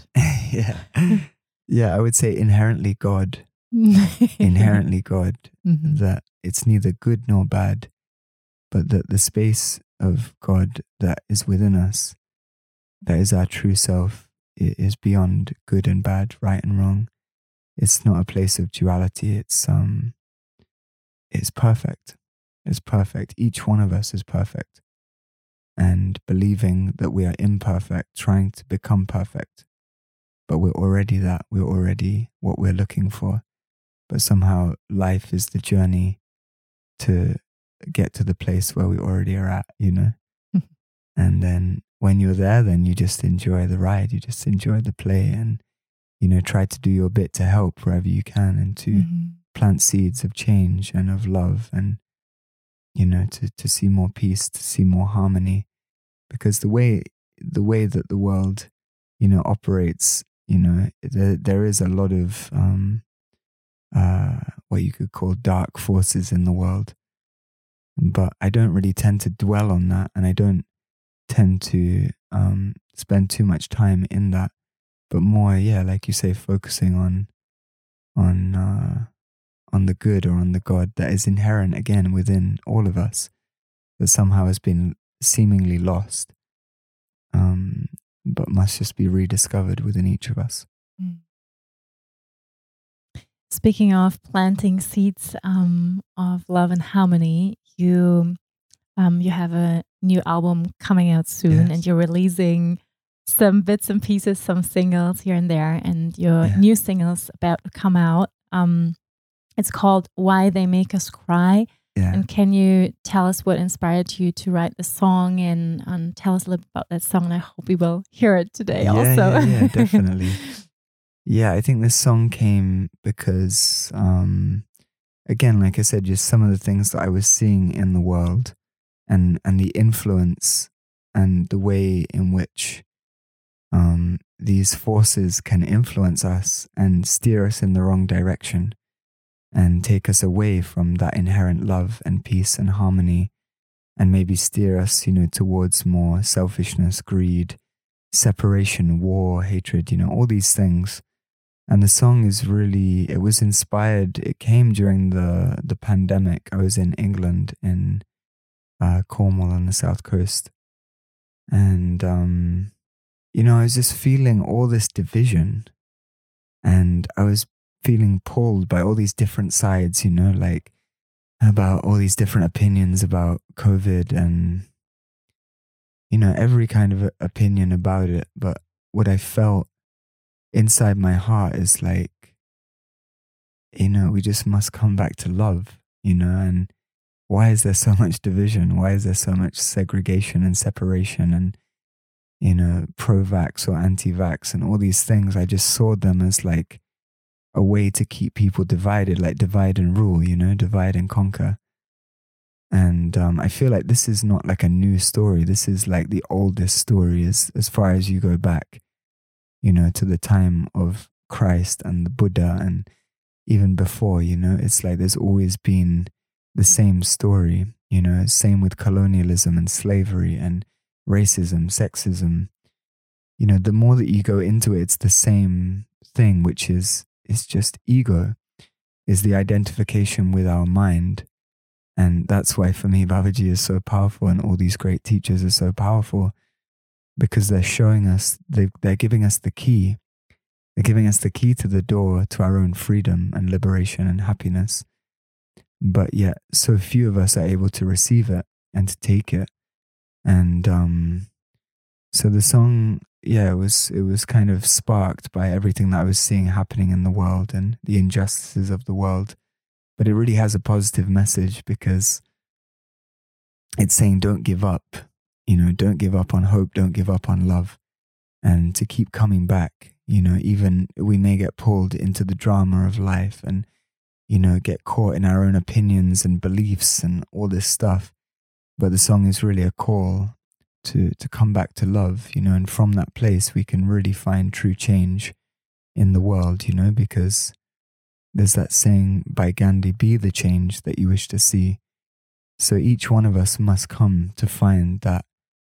Speaker 1: Yeah, I would say inherently God. Inherently God, that it's neither good nor bad, but that the space of God that is within us, that is our true self, it is beyond good and bad, right and wrong. It's not a place of duality. It's perfect. It's perfect. Each one of us is perfect. And believing that we are imperfect, trying to become perfect, but we're already that. We're already what we're looking for. But somehow life is the journey to get to the place where we already are at, you know? And then when you're there, then you just enjoy the ride. You just enjoy the play and, you know, try to do your bit to help wherever you can and to plant seeds of change and of love and, you know, to see more peace, to see more harmony. Because the way that the world, you know, operates, you know, there is a lot of what you could call dark forces in the world. But I don't really tend to dwell on that, and I don't tend to spend too much time in that, but more, yeah, like you say, focusing on the good or on the God that is inherent again within all of us, that somehow has been seemingly lost, but must just be rediscovered within each of us.
Speaker 2: Speaking of planting seeds of love and harmony, you have a new album coming out soon, and you're releasing some bits and pieces, some singles here and there, and your new single's about to come out. It's called Why They Make Us Cry. And can you tell us what inspired you to write the song and tell us a little about that song? And I hope we will hear it today also.
Speaker 1: Yeah, definitely. Yeah, I think this song came because, again, like I said, just some of the things that I was seeing in the world and the influence and the way in which these forces can influence us and steer us in the wrong direction and take us away from that inherent love and peace and harmony, and maybe steer us, you know, towards more selfishness, greed, separation, war, hatred, you know, all these things. And the song is really, it was inspired, it came during the pandemic. I was in England, in Cornwall on the south coast. And, you know, I was just feeling all this division, and I was feeling pulled by all these different sides, you know, like about all these different opinions about COVID and, you know, every kind of opinion about it. But what I felt inside my heart is like, you know, we just must come back to love, you know, and why is there so much division? Why is there so much segregation and separation and, you know, pro-vax or anti-vax and all these things? I just saw them as like a way to keep people divided, like divide and rule, you know, divide and conquer. And I feel like this is not like a new story. This is like the oldest story as far as you go back, you know, to the time of Christ and the Buddha and even before, you know. It's like there's always been the same story, you know, same with colonialism and slavery and racism, sexism. You know, the more that you go into it, it's the same thing, which is, it's just ego, is the identification with our mind. And that's why for me, Babaji is so powerful, and all these great teachers are so powerful, because they're showing us, they're giving us the key. They're giving us the key to the door to our own freedom and liberation and happiness. But yet, so few of us are able to receive it and to take it. And so the song, yeah, it was kind of sparked by everything that I was seeing happening in the world and the injustices of the world. But it really has a positive message, because it's saying don't give up, you know, don't give up on hope, don't give up on love, and to keep coming back. You know, even we may get pulled into the drama of life and, you know, get caught in our own opinions and beliefs and all this stuff. But the song is really a call to come back to love, you know, and from that place we can really find true change in the world, you know, because there's that saying by Gandhi, be the change that you wish to see. So each one of us must come to find that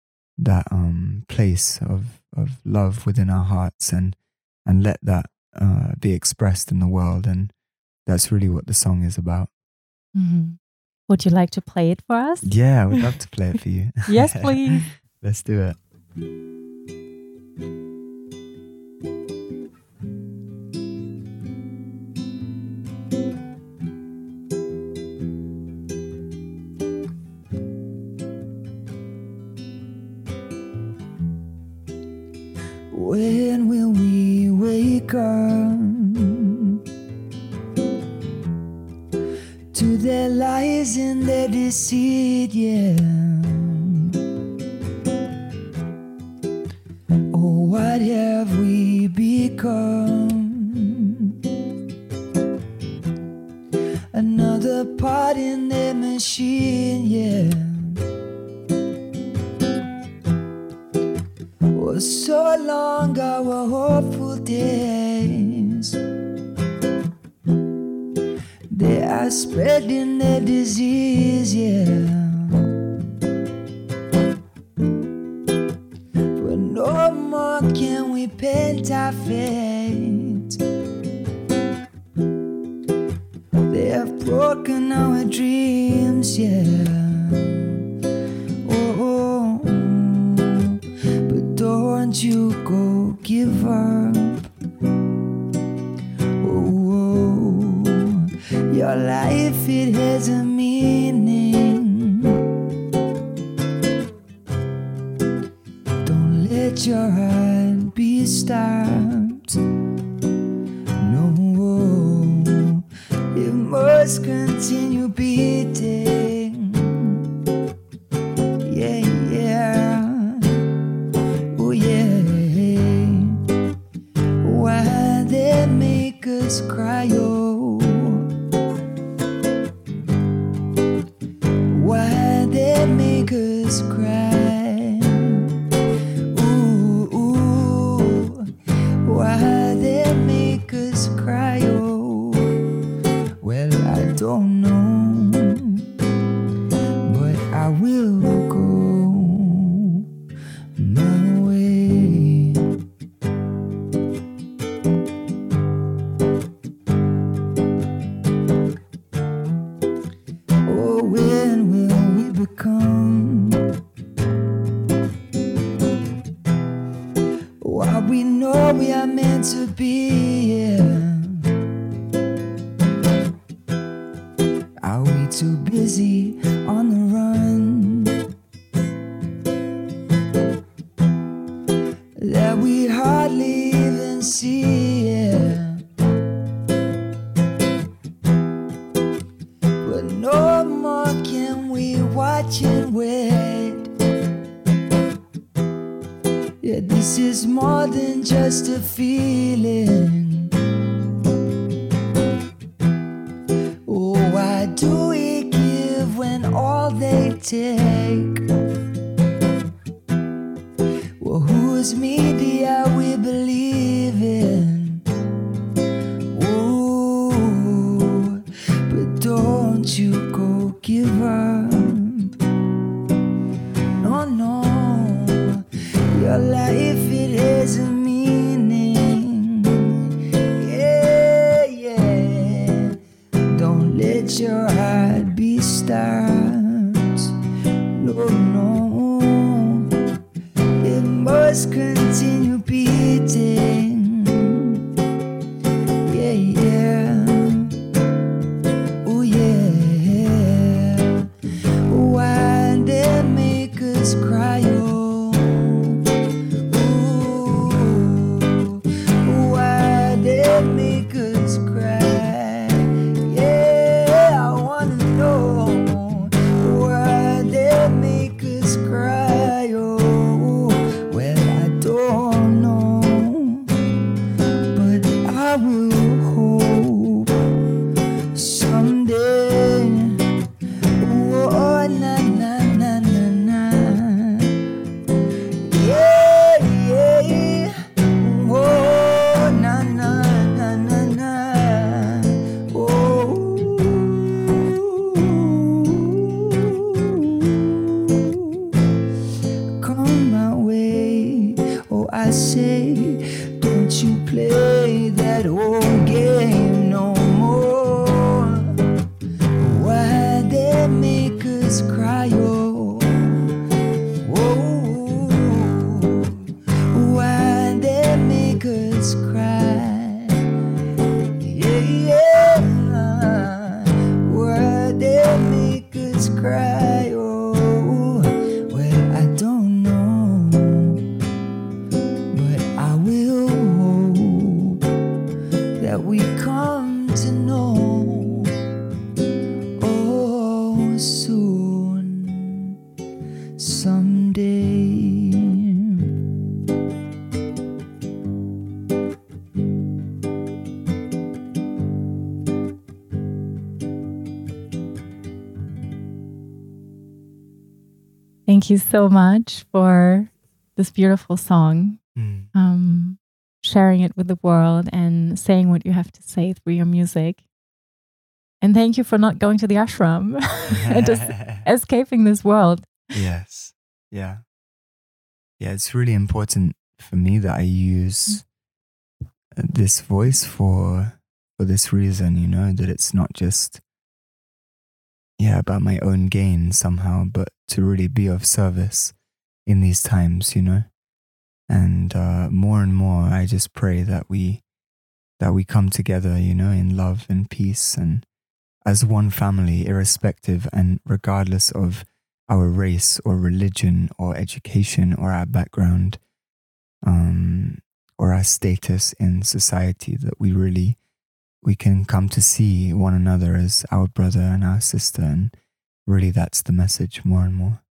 Speaker 1: place of love within our hearts and let that be expressed in the world. And that's really what the song is about.
Speaker 2: Mm-hmm. Would you like to play it for us?
Speaker 1: Yeah, I would love to play it for you.
Speaker 2: Yes, please.
Speaker 1: Let's do it. When will we wake up to their lies and their deceit, yeah? Oh, what have we become? Another part in their machine, yeah. For so long our hopeful days, they are spreading their disease, yeah. But no more can we paint our fate. They have broken our dreams, yeah. Don't you go give up. Oh, your life, it has a meaning. Don't let your heart be stopped. No, it must continue beating. Yeah, yeah. Why they make us cry, oh? Why they make us cry? Ooh, ooh. Why they make us cry, oh? Well, I don't know, but I will go my way. Oh, when will we become what we know we are meant to be? Yeah. Are we too busy on the run that we hardly even see, yeah? But no more can we watch and wait. Yeah, this is more than just a feeling. Oh, why do we give when all take? Well, whose media we believe in? Ooh, but don't you go give up. No, no, your life, it has a meaning. Yeah, yeah. Don't let your heart be stopped. No, no. It must continue beating. Yeah, yeah. Oh, yeah. Why they make us cry? Oh, ooh. Why they make us cry? Yeah, I wanna know why they make us cry. Oh, well, I don't know, but I will hope someday. Oh, na na na na na. Yeah, yeah. Oh, na na na na na. Oh. Come my way. Oh, I say, don't you play that old game no more. Why they make us cry? Oh, whoa. Why they make us cry? Yeah, yeah. Why they make us cry? Oh, well, I don't know, but I will hope that we come to know, oh, soon, someday.
Speaker 2: Thank you so much for this beautiful song, sharing it with the world and saying what you have to say through your music. And thank you for not going to the ashram and just escaping this world.
Speaker 1: Yes. Yeah. Yeah, it's really important for me that I use this voice for this reason, you know, that it's not just about my own gain somehow, but to really be of service in these times, you know. And more and more I just pray that we come together, you know, in love and peace and as one family, irrespective and regardless of our race or religion or education or our background, or our status in society, that we can come to see one another as our brother and our sister. And really that's the message more and more.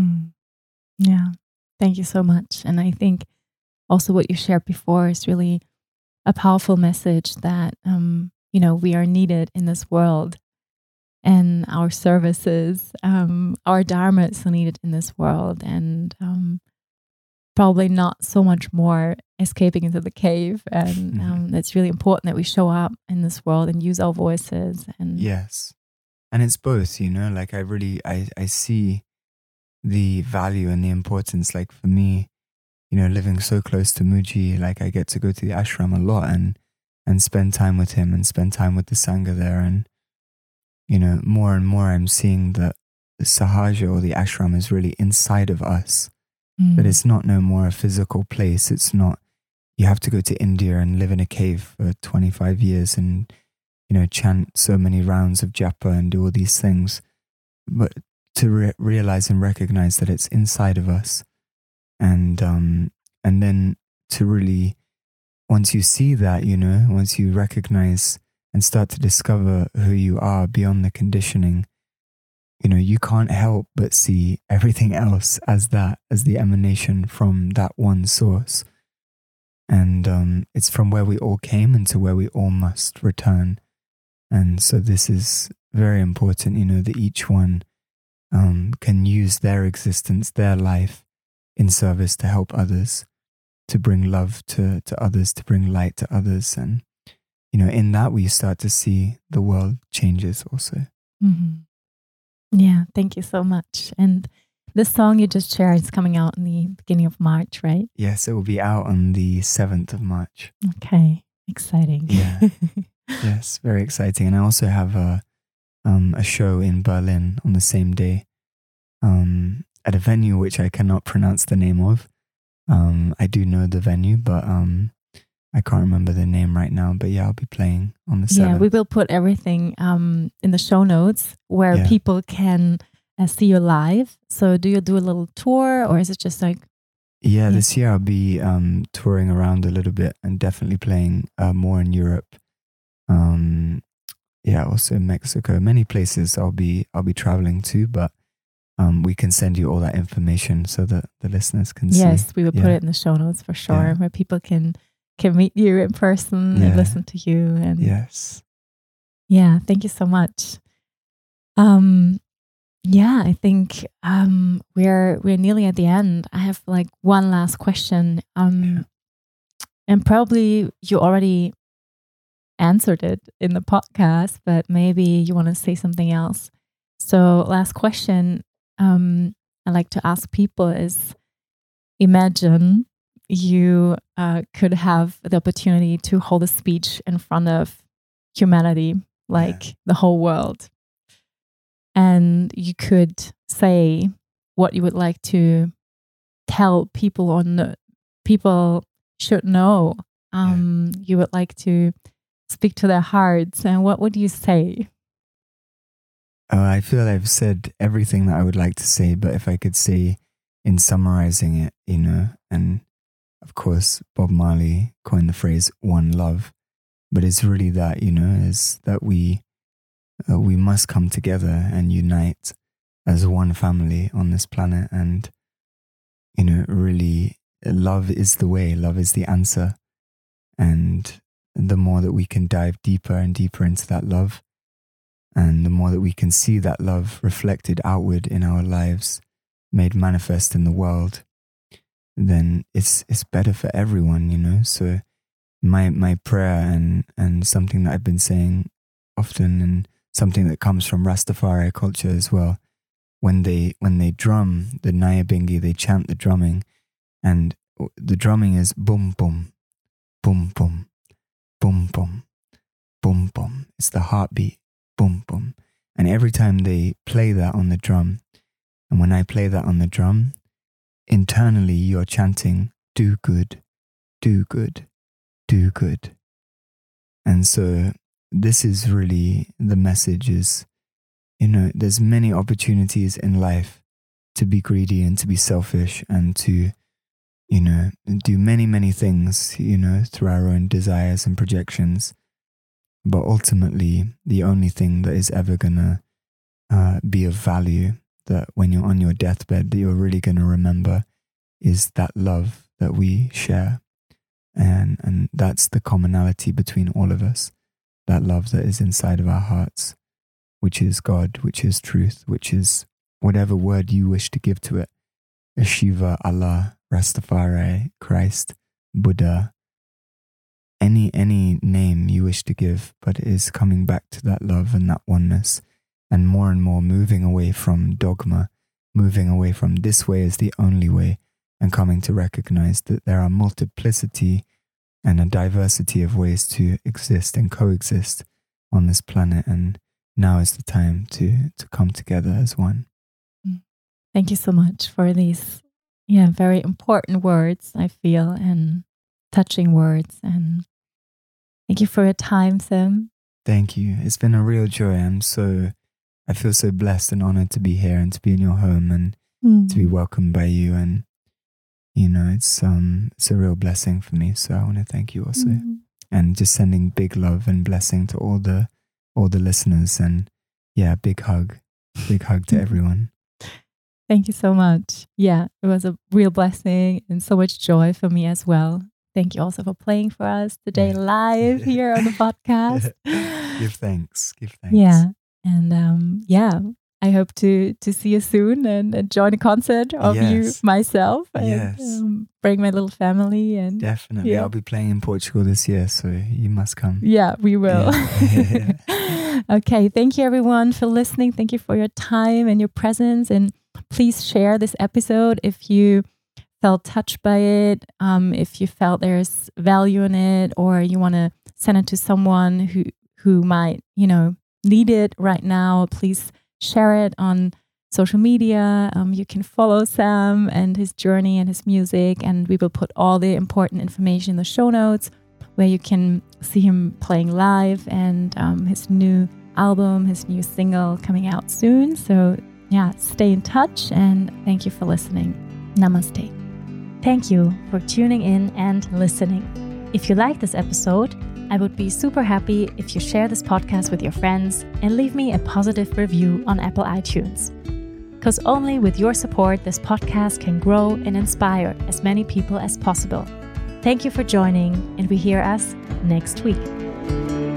Speaker 2: Yeah. Thank you so much. And I think also what you shared before is really a powerful message that, you know, we are needed in this world and our services, our dharma is needed in this world, and probably not so much more escaping into the cave. And it's really important that we show up in this world and use our voices. And
Speaker 1: yes. And it's both, you know, like I see the value and the importance, like for me, you know, living so close to Muji, like I get to go to the ashram a lot and spend time with him and spend time with the Sangha there. And, you know, more and more I'm seeing that the Sahaja or the ashram is really inside of us, that it's not no more a physical place. It's not, you have to go to India and live in a cave for 25 years and, you know, chant so many rounds of japa and do all these things. But to realize and recognize that it's inside of us. And then to really, once you see that, you know, once you recognize and start to discover who you are beyond the conditioning, you know, you can't help but see everything else as the emanation from that one source. And it's from where we all came and to where we all must return. And so this is very important, you know, that each one can use their existence, their life in service to help others, to bring love to others, to bring light to others. And, in that we start to see the world changes also.
Speaker 2: Mm-hmm. Yeah, thank you so much. And this song you just shared is coming out in the beginning of March, right?
Speaker 1: Yes, it will be out on the 7th of March.
Speaker 2: Okay, exciting.
Speaker 1: Yeah. Yes, very exciting. And I also have a show in Berlin on the same day at a venue which I cannot pronounce the name of. I do know the venue, but I can't remember the name right now. But yeah, I'll be playing on the 7th.
Speaker 2: Yeah, we will put everything in the show notes where people can see you live. So do you do a little tour, or is it just like...
Speaker 1: Yeah, this year I'll be touring around a little bit and definitely playing more in Europe. Also in Mexico, many places I'll be traveling to, but we can send you all that information so that the listeners can see.
Speaker 2: Yes, we will put it in the show notes for sure, where people can meet you in person and listen to you. And
Speaker 1: yes.
Speaker 2: Yeah, thank you so much. I think we're nearly at the end. I have like one last question. And probably you already answered it in the podcast, but maybe you want to say something else. So last question I like to ask people is, imagine you could have the opportunity to hold a speech in front of humanity, like the whole world. And you could say what you would like to tell people, or people should know. You would like to speak to their hearts. And what would you say?
Speaker 1: I feel I've said everything that I would like to say, but if I could say in summarizing it, and of course, Bob Marley coined the phrase "one love," but it's really that, is that we must come together and unite as one family on this planet. And, really, love is the way, love is the answer. And the more that we can dive deeper and deeper into that love, and the more that we can see that love reflected outward in our lives, made manifest in the world, then it's better for everyone, So my prayer and something that I've been saying often, and something that comes from Rastafari culture as well, when they drum the Nyabingi, they chant the drumming, and the drumming is boom boom, boom boom, boom boom, boom boom. It's the heartbeat, boom boom. And every time they play that on the drum, and when I play that on the drum, internally you're chanting, do good, do good, do good. And so this is really the message is, there's many opportunities in life to be greedy and to be selfish and to, do many, many things, through our own desires and projections. But ultimately, the only thing that is ever going to be of value, that when you're on your deathbed, that you're really going to remember, is that love that we share. And that's the commonality between all of us. That love that is inside of our hearts, which is God, which is truth, which is whatever word you wish to give to it. Shiva, Allah, Rastafari, Christ, Buddha, any name you wish to give, but it is coming back to that love and that oneness, and more moving away from dogma, moving away from this way is the only way, and coming to recognize that there are multiplicity and a diversity of ways to exist and coexist on this planet. And now is the time to come together as one.
Speaker 2: Thank you so much for these very important words, I feel, and touching words. And thank you for your time, Sim.
Speaker 1: Thank you. It's been a real joy. I feel so blessed and honored to be here and to be in your home and to be welcomed by you. And it's a real blessing for me. So I want to thank you also, and just sending big love and blessing to all the listeners. And big hug to everyone.
Speaker 2: Thank you so much. Yeah, it was a real blessing and so much joy for me as well. Thank you also for playing for us today live here on the podcast.
Speaker 1: Give thanks.
Speaker 2: Yeah, and I hope to see you soon and join a concert of you myself and bring my little family. And
Speaker 1: definitely, I'll be playing in Portugal this year, so you must come.
Speaker 2: Yeah, we will. Okay, thank you everyone for listening. Thank you for your time and your presence. And please share this episode if you felt touched by it, if you felt there's value in it, or you want to send it to someone who might, need it right now. Please share it on social media. You can follow Sam and his journey and his music, and we will put all the important information in the show notes where you can see him playing live and his new album, his new single coming out soon. So yeah, stay in touch and thank you for listening. Namaste. Thank you for tuning in and listening. If you like this episode, I would be super happy if you share this podcast with your friends and leave me a positive review on Apple iTunes. Because only with your support, this podcast can grow and inspire as many people as possible. Thank you for joining, and we hear us next week.